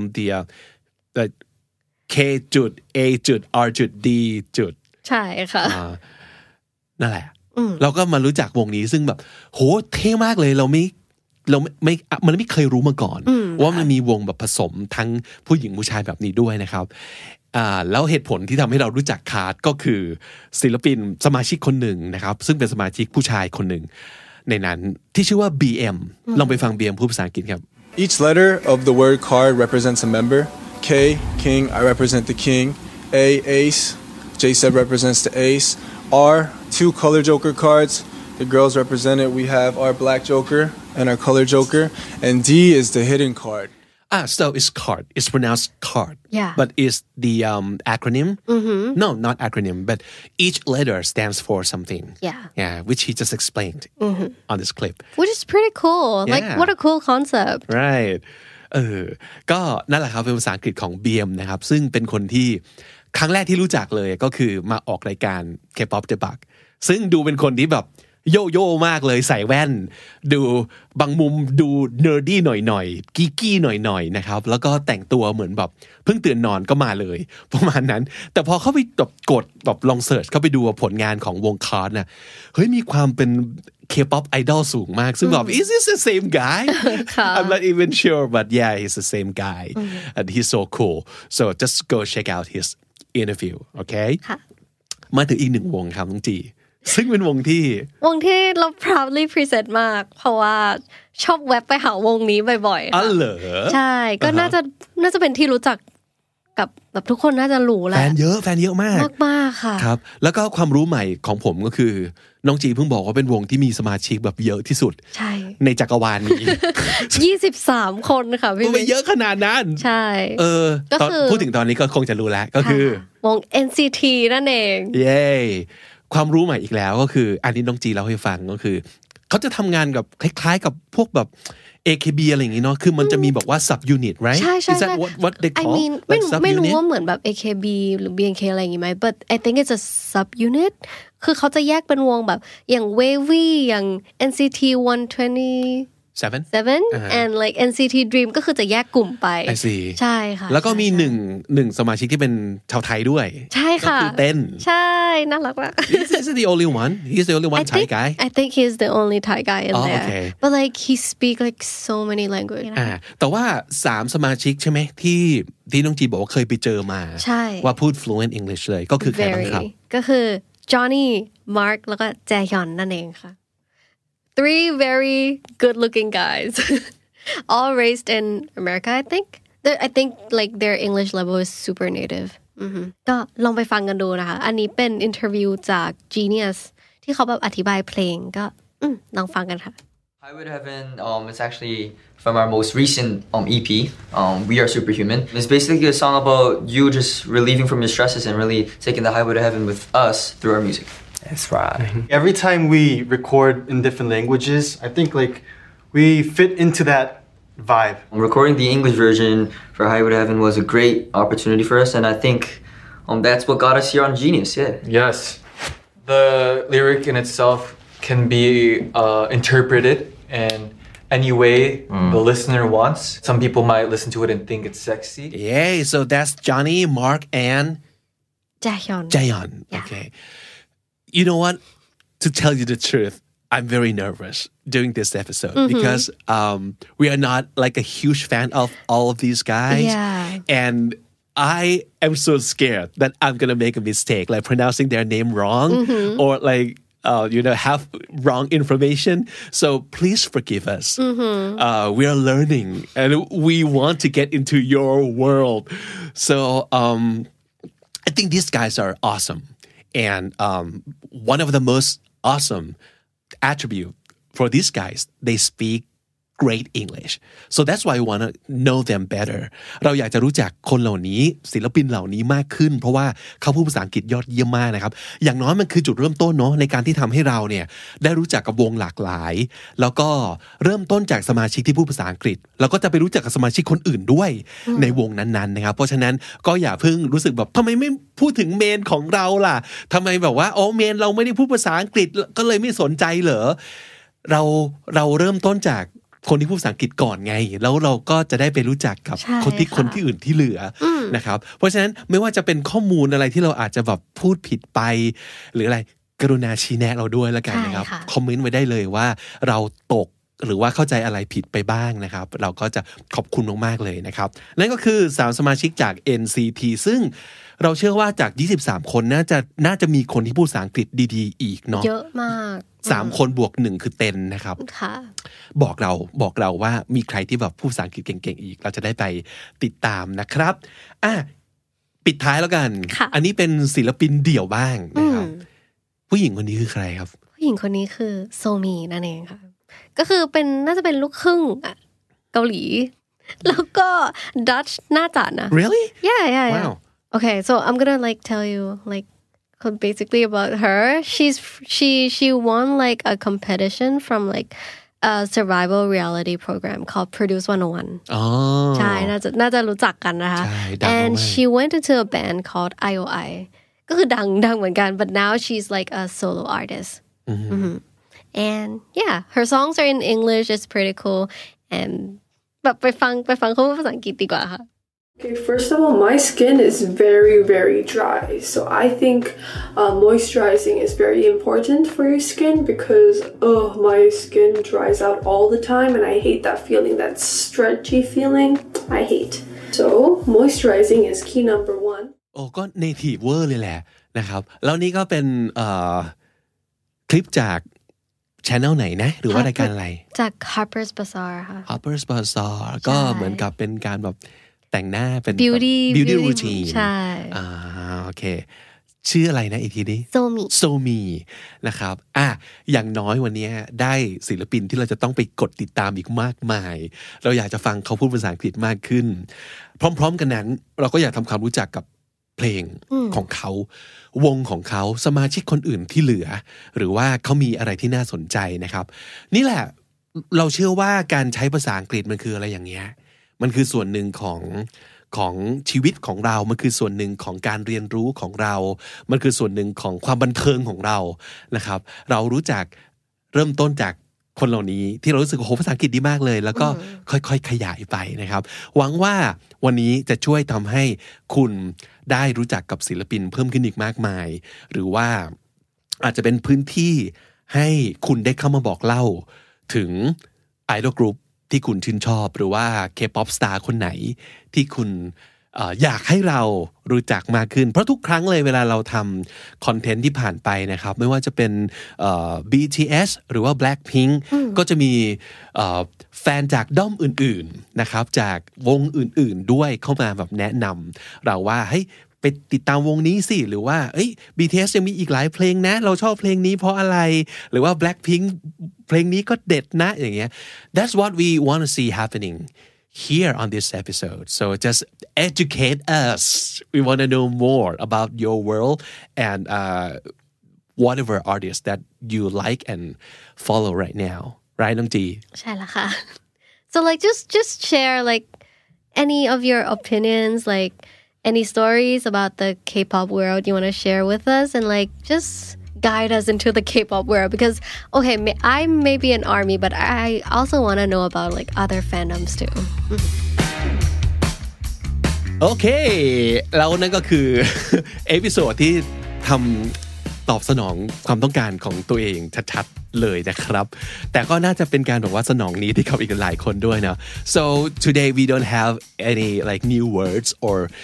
the K จุด A จุด R จุด D จุดใช่ค่ะนั่นแหละเราก็มารู้จักวงนี้ซึ่งแบบโหเท่มากเลยมันไม่เคยรู้มาก่อนว่ามันมีวงแบบผสมทั้งผู้หญิงผู้ชายแบบนี้ด้วยนะครับแล้วเหตุผลที่ทำให้เรารู้จักคาร์ดก็คือศิลปินสมาชิกคนหนึ่งนะครับซึ่งเป็นสมาชิกผู้ชายคนหนึ่งในนั้นที่ชื่อว่า BM ลองไปฟัง BM พูดภาษาอังกฤษครับ Each letter of the word card represents a member K King I represent the King A Ace J-Seb represents the ace. R, two color joker cards. The girls represented, we have our black joker and our color joker. And D is the hidden card. So it's card. It's pronounced card. Yeah. But is the acronym? Mm-hmm. No, not acronym. But each letter stands for something. Yeah, which he just explained on this clip. Which is pretty cool. Like, what a cool concept. Right. ก็นั่นแหละครับเป็นภาษาอังกฤษของ BM นะครับซึ่งเป็นคนที่ครั้งแรกที่รู้จักเลยก็คือมาออกรายการ K-pop The Bug ซึ่งดูเป็นคนที่แบบโยโย่มากเลยใส่แว่นดูบางมุมดูเนอร์ดี้หน่อยๆกีกี้หน่อยๆนะครับแล้วก็แต่งตัวเหมือนแบบเพิ่งตื่นนอนก็มาเลยประมาณนั้นแต่พอเข้าไปกดแบบลองเสิร์ชเข้าไปดูผลงานของวงคาร์ดน่ะเฮ้ยมีความเป็น K-pop idol สูงมากซึ่งแบบ is this the same guy I'm not even sure but yeah he's the same guy and he's so cool so just go check out his interview okay มาถึงอีกหนึ่งวงครับน้องจีซึ่งเป็นวงที่เรา proudly present มากเพราะว่าชอบแวบไปหาวงนี้บ่อยๆค่ะเหรอใช่ก็น่าจะเป็นที่รู้จักกับแบบทุกคนน่าจะรู้แหละแฟนเยอะมากค่ะครับแล้วก็ความรู้ใหม่ของผมก็คือน้องจีเพิ่งบอกว่าเป็นวงที่มีสมาชิกแบบเยอะที่สุดในจักรวาลนี้ 23 คนค่ะพี่ไม่เยอะขนาดนั้นใช่ก็คือพูดถึงตอนนี้ก็คงจะรู้แล้วก็คือวง NCT นั่นเองเย้ความรู้ใหม่อีกแล้วก็คืออันนี้น้องจีเล่าให้ฟังก็คือเขาจะทำงานกับคล้ายๆกับพวกแบบ AKB อะไรอย่างงี้เนาะคือมันจะมีบอกว่า sub unit right ใช่ Is that what they call ไม่รู้ว่าเหมือนแบบ AKB หรือ BNK อะไรอย่างงี้ไหม but I think it's a sub unit คือเขาจะแยกเป็นวงแบบอย่าง Wavy อย่าง NCT 127 and like NCT Dream ก็คือจะแยกกลุ่มไปใช่ค่ะแล้วก็มีหนึ่งสมาชิกที่เป็นชาวไทยด้วยใช่ค่ะก็คือเต้นใช่น่ารักมาก Is he the only one He's the only one Thai guy I think he's the only Thai guy in there okay. but like he speak like so many languages แต่ว่า3สมาชิกใช่ไหมที่น้องจีบอกว่าเคยไปเจอมาว่าพูด fluent English เลยก็คือใครบ้างครับก็คือ Johnny Mark แล้วก็แจฮยอนนั่นเองค่ะ3 very good-looking guys, all raised in America. I think like their English level is super native. ก็ลองไปฟังกันดูนะคะอันนี้เป็นอินเทอร์วิวจาก Genius ที่เขาแบบอธิบายเพลงก็ลองฟังกันค่ะ Highway to Heaven it's actually from our most recent EP, We Are Superhuman. It's basically a song about you just relieving from your stresses and really taking the highway to heaven with us through our music. That's right. Every time we record in different languages, I think like we fit into that vibe. Recording the English version for Highway to Heaven was a great opportunity for us, and I think that's what got us here on Genius. Yeah. Yes. The lyric in itself can be interpreted in any way the listener wants. Some people might listen to it and think it's sexy. Yay! So that's Johnny, Mark, and Jaehyun. Okay. You know what? To tell you the truth, I'm very nervous doing this episode because we are not like a huge fan of all of these guys. Yeah. And I am so scared that I'm gonna make a mistake like pronouncing their name wrong or like have wrong information. So please forgive us. We are learning and we want to get into your world. So I think these guys are awesome. And one of the most awesome attribute for these guys, they speak great English. So that's why I want to know them better. เราอยากจะรู้จักคนเหล่านี้ศิลปินเหล่านี้มากขึ้นเพราะว่าเขาพูดภาษาอังกฤษยอดเยี่ยมมากนะครับอย่างน้อยมันคือจุดเริ่มต้นเนาะในการที่ทำให้เราเนี่ยได้รู้จักกับวงหลากหลายแล้วก็เริ่มต้นจากสมาชิกที่พูดภาษาอังกฤษแล้วก็จะไปรู้จักกับสมาชิกคนอื่นด้วยในวงนั้นๆนะครับเพราะฉะนั้นก็อย่าเพิ่งรู้สึกแบบทำไมไม่พูดถึงเมนของเราล่ะทำไมแบบว่าอ๋อเมนเราไม่ได้พูดภาษาอังกฤษก็เลยไม่สนใจเหรอเราเริ่มต้นจากคนที่พูดภาษาอังกฤษก่อนไงแล้วเราก็จะได้ไปรู้จักกับคนที่อื่นที่เหลือนะครับเพราะฉะนั้นไม่ว่าจะเป็นข้อมูลอะไรที่เราอาจจะแบบพูดผิดไปหรืออะไรกรุณาชี้แนะเราด้วยแล้วกันนะครับคอมเมนต์ไว้ได้เลยว่าเราตกหรือว่าเข้าใจอะไรผิดไปบ้างนะครับเราก็จะขอบคุณมากๆเลยนะครับนั่นก็คือ3สมาชิกจาก NCT ซึ่งเราเชื่อว่าจาก23คนน่าจะมีคนที่พูดภาษาอังกฤษดีๆอีกเนาะเยอะมาก 3คนบวก1คือเต็นนะครับบอกเราว่ามีใครที่แบบพูดภาษาอังกฤษเก่งๆอีกเราจะได้ไปติดตามนะครับปิดท้ายแล้วกันอันนี้เป็นศิลปินเดี่ยวบ้างนะครับผู้หญิงคนนี้คือใครครับผู้หญิงคนนี้คือโซมีนั่นเองค่ะก็คือน่าจะเป็นลูกครึ่งเกาหลีแล้วก็ Dutch น่าจะนะ Really? Yeah. Wow. Okay, so I'm gonna tell you basically about her. She won a competition from a survival reality program called Produce 101. ใช่น่าจะรู้จักกันนะคะ And she went into a band called IOI ก็คือดังเหมือนกัน but now she's a solo artist. And yeah, her songs are in English. It's pretty cool. And แบบไปฟังเขาพูดภาษาอังกฤษดีกว่าค่ะ Okay, first of all, my skin is very, very dry. So I think moisturizing is very important for your skin because my skin dries out all the time and I hate that feeling, that stretchy feeling. I hate. So moisturizing is key number 1. โอ้ก็เนทีฟเวอร์เลยแหละนะครับแล้วนี่ก็เป็นคลิปจากchannel ไหนนะหรือว่ารายการอะไรจาก Harper's Bazaar ค่ะ Harper's Bazaar ก็เหมือนกับเป็นการแบบแต่งหน้าเป็น beauty routine ใช่โอเคชื่ออะไรนะอีกทีนี้โซมีนะครับอย่างน้อยวันนี้ได้ศิลปินที่เราจะต้องไปกดติดตามอีกมากมายเราอยากจะฟังเขาพูดภาษาอังกฤษมากขึ้นพร้อมๆกันนั้นเราก็อยากทำความรู้จักกับเพลงของเขาวงของเขาสมาชิกคนอื่นที่เหลือหรือว่าเขามีอะไรที่น่าสนใจนะครับนี่แหละเราเชื่อว่าการใช้ภาษาอังกฤษมันคืออะไรอย่างเงี้ยมันคือส่วนหนึ่งของชีวิตของเรามันคือส่วนหนึ่งของการเรียนรู้ของเรามันคือส่วนหนึ่งของความบันเทิงของเรานะครับเรารู้จักเริ่มต้นจากคนเหล่านี้ที่เรารู้สึกโอ้โหภาษาอังกฤษดีมากเลยแล้วก็ค่อยๆขยายไปนะครับหวังว่าวันนี้จะช่วยทำให้คุณได้รู้จักกับศิลปินเพิ่มขึ้นอีกมากมายหรือว่าอาจจะเป็นพื้นที่ให้คุณได้เข้ามาบอกเล่าถึงไอดอลกรุ๊ปที่คุณชื่นชอบหรือว่า K-pop star คนไหนที่คุณอยากให้เรารู้จักมากขึ้นเพราะทุกครั้งเลยเวลาเราทำคอนเทนต์ที่ผ่านไปนะครับไม่ว่าจะเป็นBTS หรือว่า Blackpink ก็จะมีแฟนจากด้อมอื่นๆนะครับจากวงอื่นๆด้วยเข้ามาแบบแนะนำเราว่าเฮ้ยไปติดตามวงนี้สิหรือว่าBTS ยังมีอีกหลายเพลงนะเราชอบเพลงนี้เพราะอะไรหรือว่า Blackpink เพลงนี้ก็เด็ดนะอย่างเงี้ย That's what we want to see happening here on this episode. So just educate us. We want to know more about your world and whatever artist that you like and follow right now. Right, น้องจีใช่แล้วค่ะ So just share any of your opinions any stories about the K-pop world you want to share with us and just guide us into the K-pop world because okay I may be an ARMY but I also want to know about other fandoms too โอเคแล้วนั่นก็คือเอพิโซดที่ทำตอบสนองความต้องการของตัวเองชัดๆเลยนะครับแต่ก็น่าจะเป็นการบอกว่าสนองนี้ที่กับอีกหลายคนด้วยนะ So today we don't have any new words or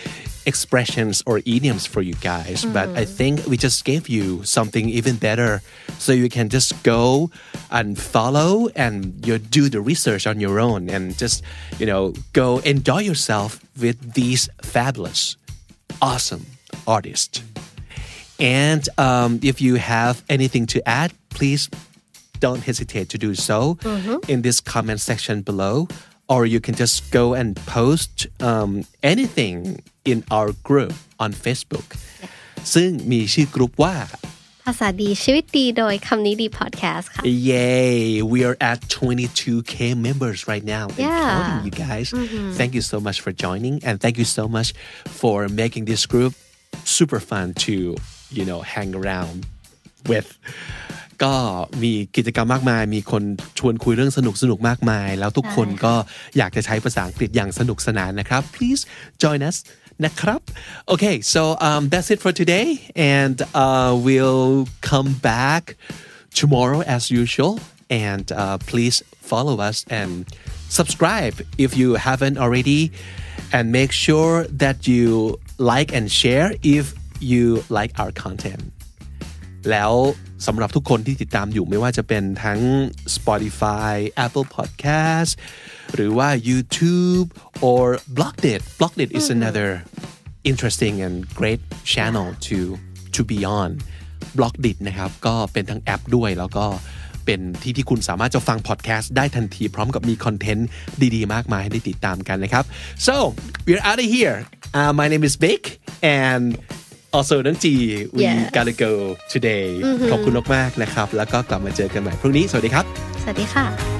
expressions or idioms for you guys, but I think we just gave you something even better, so you can just go and follow and you do the research on your own and just go enjoy yourself with these fabulous, awesome artists. And if you have anything to add, please don't hesitate to do so in this comment section below, or you can just go and post anything in our group on Facebook ซึ่งมีชื่อกลุ่มว่าภาษาดีชีวิตดีโดยคำนี้ดี podcast ค่ะ Yay we are at 22k members right now and counting you guys thank you so much for joining and thank you so much for making this group super fun to hang around with ก็มีกิจกรรมมากมายมีคนชวนคุยเรื่องสนุกมากมายแล้วทุกคนก็อยากจะใช้ภาษาอังกฤษอย่างสนุกสนานนะครับ please join us นะครับ okay so that's it for today and we'll come back tomorrow as usual and please follow us and subscribe if you haven't already and make sure that you like and share if you like our content แล้วสำหรับทุกคนที่ติดตามอยู่ไม่ว่าจะเป็นทั้ง Spotify Apple Podcast หรือว่า YouTube or Blockdit is another interesting and great channel to be on Blockdit นะครับก็เป็นทั้งแอปด้วยแล้วก็เป็นที่คุณสามารถจะฟังพอดแคสต์ได้ทันทีพร้อมกับมีคอนเทนต์ดีๆมากมายให้ได้ติดตามกันนะครับ so we're out of here my name is Vic and also น้องจี we gotta go today ขอบคุณมากๆนะครับแล้วก็กลับมาเจอกันใหม่พรุ่งนี้สวัสดีครับสวัสดีค่ะ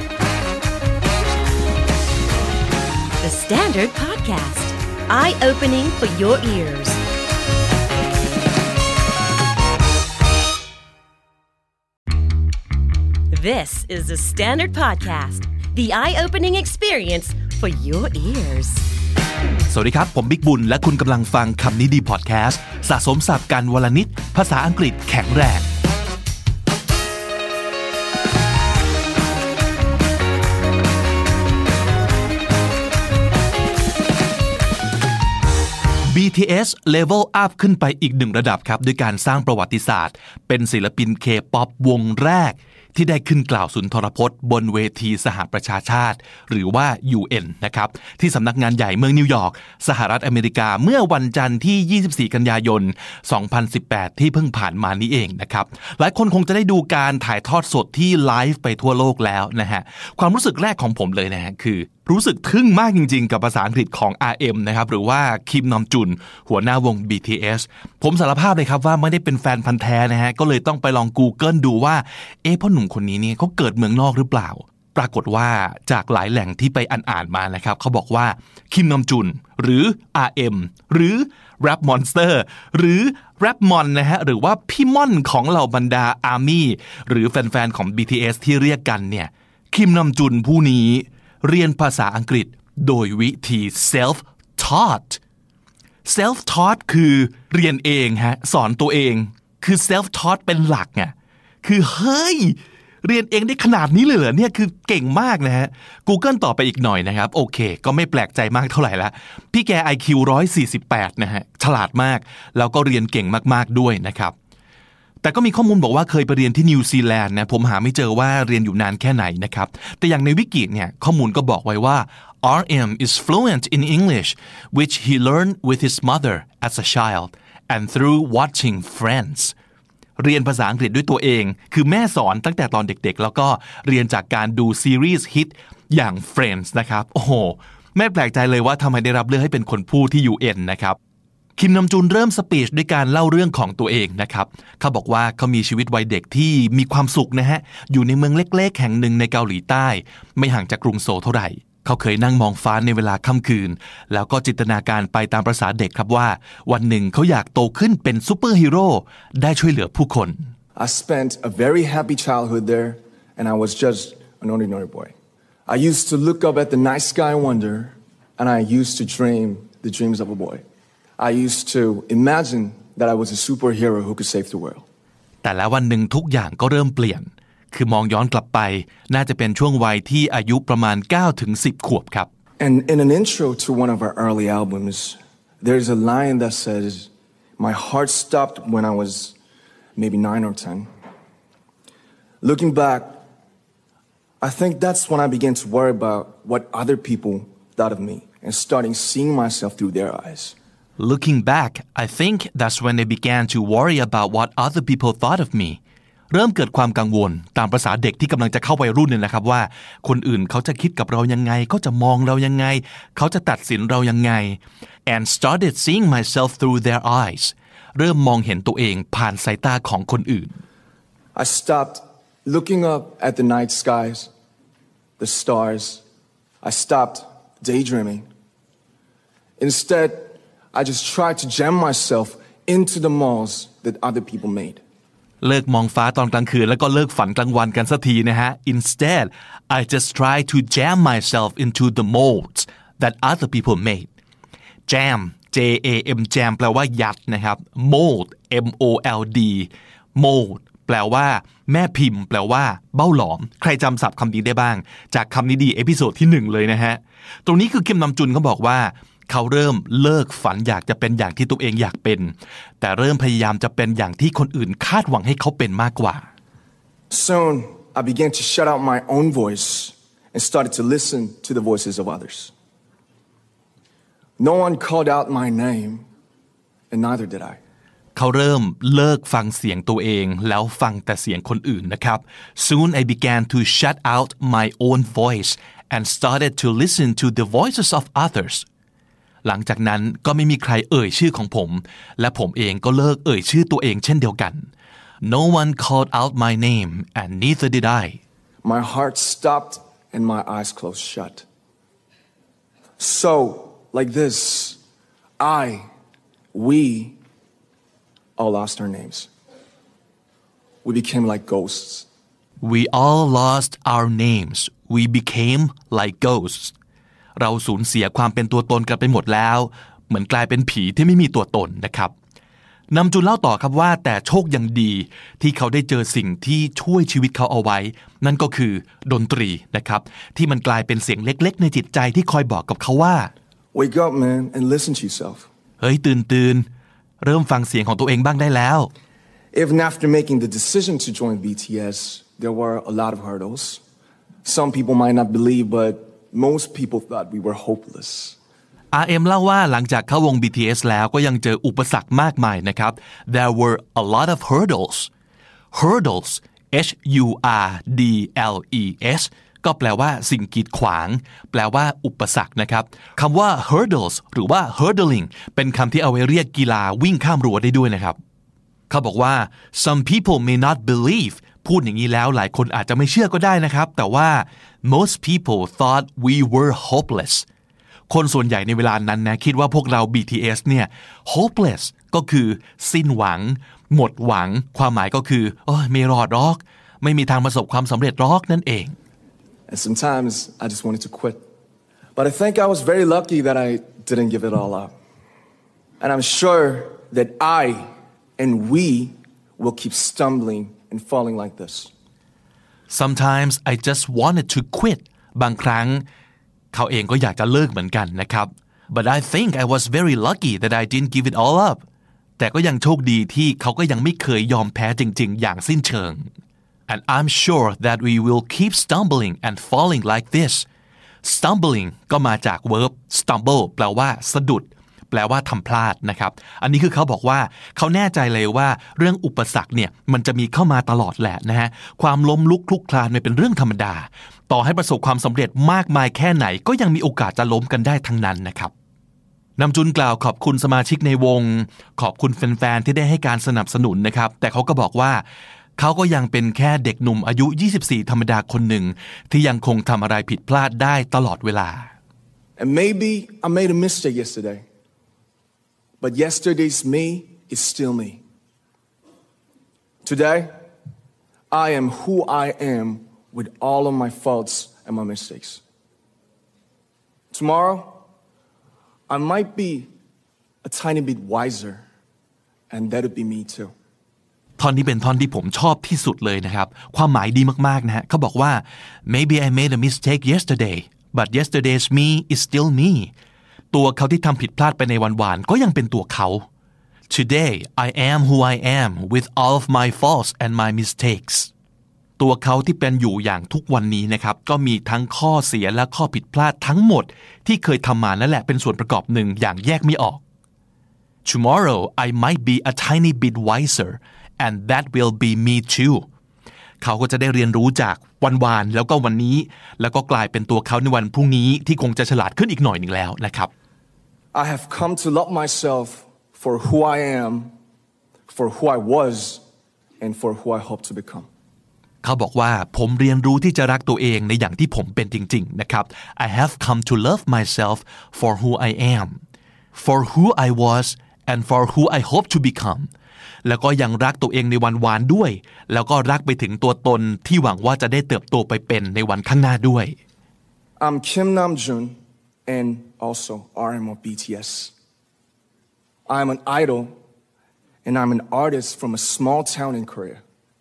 The Standard Podcast Eye-opening for your ears This is the Standard Podcast The eye-opening experience for your ears สวัสดีครับผมบิ๊กบุญและคุณกำลังฟังคำนี้ดีพอดแคสต์สะสมศัพท์กันวลนิดภาษาอังกฤษแข็งแรง BTS level up ขึ้นไปอีกหนึ่งระดับครับด้วยการสร้างประวัติศาสตร์เป็นศิลปิน K-POP วงแรกที่ได้ขึ้นกล่าวสุนทรพจน์บนเวทีสหประชาชาติหรือว่า UN นะครับที่สำนักงานใหญ่เมืองนิวยอร์กสหรัฐอเมริกาเมื่อวันจันทร์ที่24กันยายน2018ที่เพิ่งผ่านมานี้เองนะครับหลายคนคงจะได้ดูการถ่ายทอดสดที่ไลฟ์ไปทั่วโลกแล้วนะฮะความรู้สึกแรกของผมเลยนะฮะคือรู้สึกทึ่งมากจริงๆกับภาษาอังกฤษของ RM นะครับหรือว่าคิมนอมจุนหัวหน้าวง BTS ผมสารภาพเลยครับว่าไม่ได้เป็นแฟนพันธุ์แท้นะฮะก็เลยต้องไปลอง Google ดูว่าพ่อหนุ่มคนนี้เนี่ยเขาเกิดเมืองนอกหรือเปล่าปรากฏว่าจากหลายแหล่งที่ไปอ่านมานะครับเขาบอกว่าคิมนอมจุนหรือ RM หรือ Rap Monster หรือ Rap Mon นะฮะหรือว่าพี่ม่อนของเหล่าบรรดา ARMY หรือแฟนๆของ BTS ที่เรียกกันเนี่ยคิมนอมจุนผู้นี้เรียนภาษาอังกฤษโดยวิธี self-taught คือเรียนเองฮะสอนตัวเองคือ self-taught เป็นหลักไงคือเฮ้ยเรียนเองได้ขนาดนี้เลยเหรอเนี่ยคือเก่งมากนะฮะ Google ต่อไปอีกหน่อยนะครับโอเคก็ไม่แปลกใจมากเท่าไหร่ละพี่แก IQ 148นะฮะฉลาดมากแล้วก็เรียนเก่งมากๆด้วยนะครับแต่ก็มีข้อมูลบอกว่าเคยไปเรียนที่นิวซีแลนด์นะผมหาไม่เจอว่าเรียนอยู่นานแค่ไหนนะครับแต่อย่างในวิกิเนี่ยข้อมูลก็บอกไว้ว่า RM is fluent in English which he learned with his mother as a child and through watching Friends เรียนภาษาอังกฤษด้วยตัวเองคือแม่สอนตั้งแต่ตอนเด็กๆแล้วก็เรียนจากการดูซีรีส์ฮิตอย่าง Friends นะครับโอ้โหไม่แปลกใจเลยว่าทำไมได้รับเลือกให้เป็นคนพูดที่ UN นะครับคิมนอมจุนเริ่มสปีชด้วยการเล่าเรื่องของตัวเองนะครับเขาบอกว่าเขามีชีวิตวัยเด็กที่มีความสุขนะฮะอยู่ในเมืองเล็กๆแห่งหนึ่งในเกาหลีใต้ไม่ห่างจากกรุงโซลเท่าไหร่เขาเคยนั่งมองฟ้าในเวลาค่ำคืนแล้วก็จินตนาการไปตามประสาเด็กครับว่าวันหนึ่งเขาอยากโตขึ้นเป็นซูเปอร์ฮีโร่ได้ช่วยเหลือผู้คน I spent a very happy childhood there and I was just an ordinary boy. I used to look up at the night sky and wonder and I used to dream the dreams of a boy.I used to imagine that I was a superhero who could save the world. แต่แล้ววันหนึ่งทุกอย่างก็เริ่มเปลี่ยนคือมองย้อนกลับไปน่าจะเป็นช่วงวัยที่อายุประมาณ9 ถึง 10 ขวบครับ And in an intro to one of our early albums, there's a line that says, my heart stopped when I was maybe 9 or 10. Looking back, I think that's when I began to worry about what other people thought of me and starting seeing myself through their eyes. Looking back, I think that's when I began to worry about what other people thought of me. เริ่มเกิดความกังวลตามประสาเด็กที่กำลังจะเข้าวัยรุ่นเนี่ยนะครับว่าคนอื่นเขาจะคิดกับเรายังไงเขาจะมองเรายังไงเขาจะตัดสินเรายังไง and started seeing myself through their eyes เริ่มมองเห็นตัวเองผ่านสายตาของคนอื่น I stopped looking up at the night skies, the stars. I stopped daydreaming. Instead, I just tried to jam myself into the malls that other people made. เลิกมองฟ้าตอนกลางคืนแล้วก็เลิกฝันกลางวันกันสักทีนะฮะ Instead I just try to jam myself into the molds that other people made jam J-A-M jam แปลว่ายัดนะครับ mold M-O-L-D mold แปลว่าแม่พิมพ์แปลว่าเบ้าหลอมใครจำศัพท์คำนี้ได้บ้างจากคำนี้ดีเอพิโซดที่1เลยนะฮะตรงนี้คือคิมนำจุนเขาบอกว่าเขาเริ่มเลิกฝันอยากจะเป็นอย่างที่ตัวเองอยากเป็นแต่เริ่มพยายามจะเป็นอย่างที่คนอื่นคาดหวังให้เขาเป็นมากกว่า Soon I began to shut out my own voice and started to listen to the voices of others. No one called out my name and neither did I. เขาเริ่มเลิกฟังเสียงตัวเองแล้วฟังแต่เสียงคนอื่นนะครับ Soon I began to shut out my own voice and started to listen to the voices of others.หลังจากนั้นก็ไม่มีใครเอ่ยชื่อของผมและผมเองก็เลิกเอ่ยชื่อตัวเองเช่นเดียวกัน No one called out my name and neither did I. My heart stopped and my eyes closed shut. So, like this, we all lost our names. We became like ghosts. We all lost our names. We became like ghosts.เราสูญเสียความเป็นตัวตนกันไปหมดแล้วเหมือนกลายเป็นผีที่ไม่มีตัวตนนะครับนำจุนเล่าต่อครับว่าแต่โชคยังดีที่เขาได้เจอสิ่งที่ช่วยชีวิตเขาเอาไว้นั่นก็คือดนตรีนะครับที่มันกลายเป็นเสียงเล็กๆในจิตใจที่คอยบอกกับเขาว่า Wake up man and listen to yourself เฮ้ยตื่นเริ่มฟังเสียงของตัวเองบ้างได้แล้ว Even after making the decision to join BTS there were a lot of hurdles some people might not believe but Most people thought we were hopeless. RM เล่าว่าหลังจากเข้าวง BTS แล้วก็ยังเจออุปสรรคมากมายนะครับ There were a lot of hurdles. Hurdles H-U-R-D-L-E-S ก็แปลว่าสิ่งกีดขวางแปลว่าอุปสรรคนะครับคำว่า hurdles หรือว่า hurdling เป็นคำที่เอาไว้เรียกกีฬาวิ่งข้ามรั้วได้ด้วยนะครับเขาบอกว่า some people may not believeพูดอย่างนี้แล้วหลายคนอาจจะไม่เชื่อก็ได้นะครับแต่ว่า most people thought we were hopeless คนส่วนใหญ่ในเวลานั้นนะคิดว่าพวกเรา BTS เนี่ย hopeless ก็คือสิ้นหวังหมดหวังความหมายก็คือไม่รอดหรอกไม่มีทางประสบความสำเร็จหรอกนั่นเอง And sometimes I just wanted to quit but I think I was very lucky that I didn't give it all up and I'm sure that I and we will keep stumbling and falling like this. Sometimes I just wanted to quit. บางครั้งเขาเองก็อยากจะเลิกเหมือนกันนะครับ But I think I was very lucky that I didn't give it all up. แต่ก็ยังโชคดีที่เขาก็ยังไม่เคยยอมแพ้จริงๆอย่างสิ้นเชิง And I'm sure that we will keep stumbling and falling like this. Stumbling ก็มาจาก verb stumble แปลว่าสะดุดแปลว่าทำพลาดนะครับอันนี้คือเขาบอกว่าเขาแน่ใจเลยว่าเรื่องอุปสรรคเนี่ยมันจะมีเข้ามาตลอดแหละนะฮะความล้มลุกคลุกคลานมันเป็นเรื่องธรรมดาต่อให้ประสบความสำเร็จมากมายแค่ไหนก็ยังมีโอกาสจะล้มกันได้ทั้งนั้นนะครับนำจุนกล่าวขอบคุณสมาชิกในวงขอบคุณแฟนๆที่ได้ให้การสนับสนุนนะครับแต่เขาก็บอกว่าเขาก็ยังเป็นแค่เด็กหนุ่มอายุ24ธรรมดาคนหนึ่งที่ยังคงทำอะไรผิดพลาดได้ตลอดเวลา And maybe I made a mistake yesterday But yesterday's me is still me. Today, I am who I am with all of my faults and my mistakes. Tomorrow, I might be a tiny bit wiser, and that'll be me too. ท่อนนี้เป็นท่อนที่ผมชอบที่สุดเลยนะครับความหมายดีมากๆนะฮะเขาบอกว่า Maybe I made a mistake yesterday, but yesterday's me is still me. ตัวเขาที่ทำผิดพลาดไปในวันวานก็ยังเป็นตัวเขา Today I am who I am with all of my faults and my mistakes ตัวเขาที่เป็นอยู่อย่างทุกวันนี้นะครับก็มีทั้งข้อเสียและข้อผิดพลาดทั้งหมดที่เคยทำมานั่นแหละเป็นส่วนประกอบหนึ่งอย่างแยกไม่ออก Tomorrow I might be a tiny bit wiser and that will be me too เขาก็จะได้เรียนรู้จากวันวานแล้วก็วันนี้แล้วก็กลายเป็นตัวเขาในวันพรุ่งนี้ที่คงจะฉลาดขึ้นอีกหน่อยหนึ่งแล้วนะครับ I have come to love myself for who I am, for who I was, and for who I hope to become. เขาบอกว่าผมเรียนรู้ที่จะรักตัวเองในอย่างที่ผมเป็นจริงๆนะครับ I have come to love myself for who I am, for who I was, and for who I hope to become. แล้วก็ยังรักตัวเองในวันวานด้วยแล้วก็รักไปถึงตัวตนที่หวังว่าจะได้เติบโตไปเป็นในวันข้างหน้าด้วย I'm Kim Namjoon and also RM of BTS. I'm an idol and I'm an artist from a small town in Korea.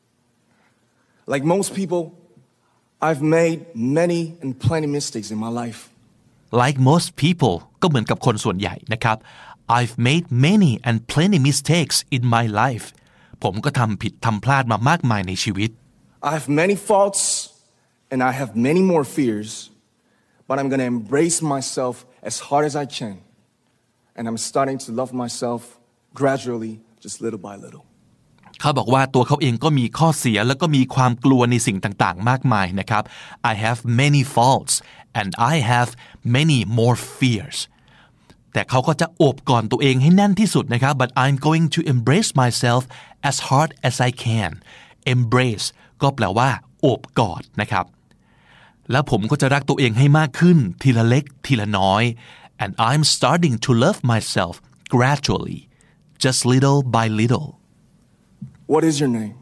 Like most people, I've made many and plenty mistakes in my life. Like most people ก็เหมือนกับคนส่วนใหญ่นะครับI've made many and plenty mistakes in my life ผมก็ทำผิดทำพลาดมามากมายในชีวิต I have many faults and I have many more fears but I'm gonna embrace myself as hard as I can and I'm starting to love myself gradually just little by little เขาบอกว่าตัวเขาเองก็มีข้อเสียแล้วก็มีความกลัวในสิ่งต่างๆมากมายนะครับ I have many faults and I have many more fearsแต่เขาก็จะโอบกอดตัวเองให้แน่นที่สุดนะครับ but I'm going to embrace myself as hard as I can embrace ก็แปลว่าโอบกอดนะครับแล้วผมก็จะรักตัวเองให้มากขึ้นทีละเล็กทีละน้อย and I'm starting to love myself gradually just little by little What is your name?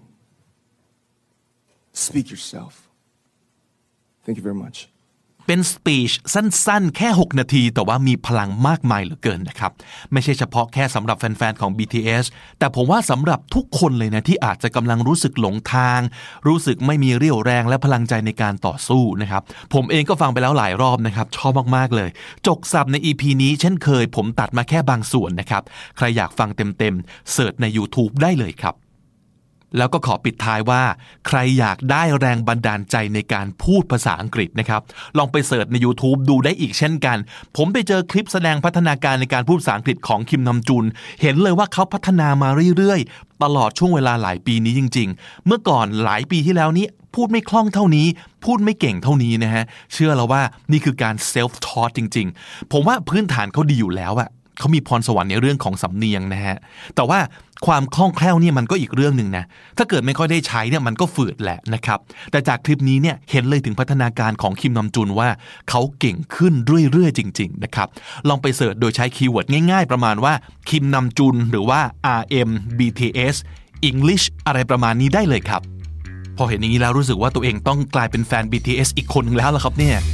Speak yourself. Thank you very much. เป็นสปีชสั้นๆแค่6นาทีแต่ว่ามีพลังมากมายเหลือเกินนะครับไม่ใช่เฉพาะแค่สำหรับแฟนๆของ BTS แต่ผมว่าสำหรับทุกคนเลยนะที่อาจจะกำลังรู้สึกหลงทางรู้สึกไม่มีเรี่ยวแรงและพลังใจในการต่อสู้นะครับผมเองก็ฟังไปแล้วหลายรอบนะครับชอบมากๆเลยจกศัพท์ใน EP นี้เช่นเคยผมตัดมาแค่บางส่วนนะครับใครอยากฟังเต็มๆเสิร์ชใน YouTube ได้เลยครับแล้วก็ขอปิดท้ายว่าใครอยากได้แรงบันดาลใจในการพูดภาษาอังกฤษนะครับลองไปเสิร์ชใน YouTube ดูได้อีกเช่นกันผมไปเจอคลิปแสดงพัฒนาการในการพูดภาษาอังกฤษของคิมนัมจุนเห็นเลยว่าเขาพัฒนามาเรื่อยๆตลอดช่วงเวลาหลายปีนี้จริงๆเมื่อก่อนหลายปีที่แล้วนี้พูดไม่คล่องเท่านี้พูดไม่เก่งเท่านี้นะฮะเชื่อแล้วว่านี่คือการ self taught จริงๆผมว่าพื้นฐานเขาดีอยู่แล้วอะเขามีพรสวรรค์ในเรื่องของสำเนียงนะฮะแต่ว่าความคล่องแคล่วเนี่ยมันก็อีกเรื่องนึงนะถ้าเกิดไม่ค่อยได้ใช้เนี่ยมันก็ฝืดแหละนะครับแต่จากคลิปนี้เนี่ยเห็นเลยถึงพัฒนาการของคิมนัมจุนว่าเขาเก่งขึ้นเรื่อยๆจริงๆนะครับลองไปเสิร์ชโดยใช้คีย์เวิร์ดง่ายๆประมาณว่าคิมนัมจุนหรือว่า RM BTS English อะไรประมาณนี้ได้เลยครับพอเห็นอย่างนี้แล้วรู้สึกว่าตัวเองต้องกลายเป็นแฟน BTS อีกคนนึงแล้วล่ะครับเนี่ย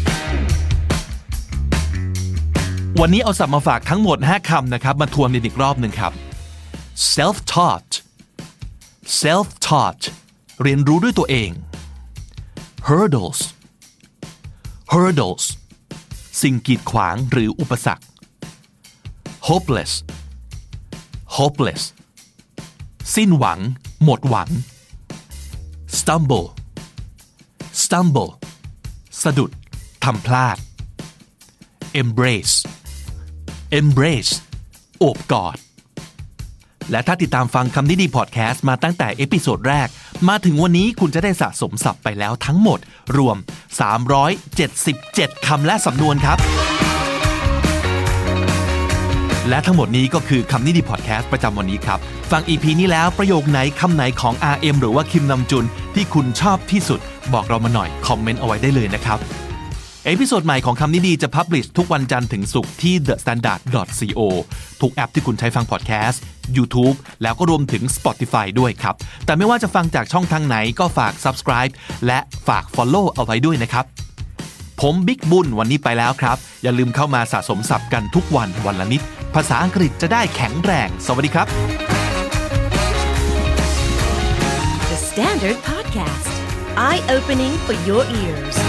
วันนี้เอาศัพท์มาฝากทั้งหมด5คำนะครับมาทวนอีกรอบหนึ่งครับ self-taught self-taught เรียนรู้ด้วยตัวเอง hurdles hurdles สิ่งกีดขวางหรืออุปสรรค hopeless hopeless สิ้นหวังหมดหวัง stumble stumble สะดุดทำพลาด embrace embrace โอบกอดและถ้าติดตามฟังคำนี้ดีพอดแคสต์มาตั้งแต่เอพิโซดแรกมาถึงวันนี้คุณจะได้สะสมศัพท์ไปแล้วทั้งหมดรวม377คำและสำนวนครับและทั้งหมดนี้ก็คือคำนี้ดีพอดแคสต์ประจำวันนี้ครับฟัง EP นี้แล้วประโยคไหนคำไหนของ RM หรือว่าคิมนัมจุนที่คุณชอบที่สุดบอกเรามาหน่อยคอมเมนต์เอาไว้ได้เลยนะครับเอพิโซดใหม่ของคำนี้ดีจะพับลิชทุกวันจันทร์ถึงศุกร์ที่ thestandard.co ทุกแอปที่คุณใช้ฟังพอดแคสต์ YouTube แล้วก็รวมถึง Spotify ด้วยครับแต่ไม่ว่าจะฟังจากช่องทางไหนก็ฝาก Subscribe และฝาก Follow เอาไว้ด้วยนะครับผมบิ๊กบุญวันนี้ไปแล้วครับอย่าลืมเข้ามาสะสมศัพท์กันทุกวันวันละนิดภาษาอังกฤษจะได้แข็งแรงสวัสดีครับ The Standard Podcast Eye Opening for Your Ears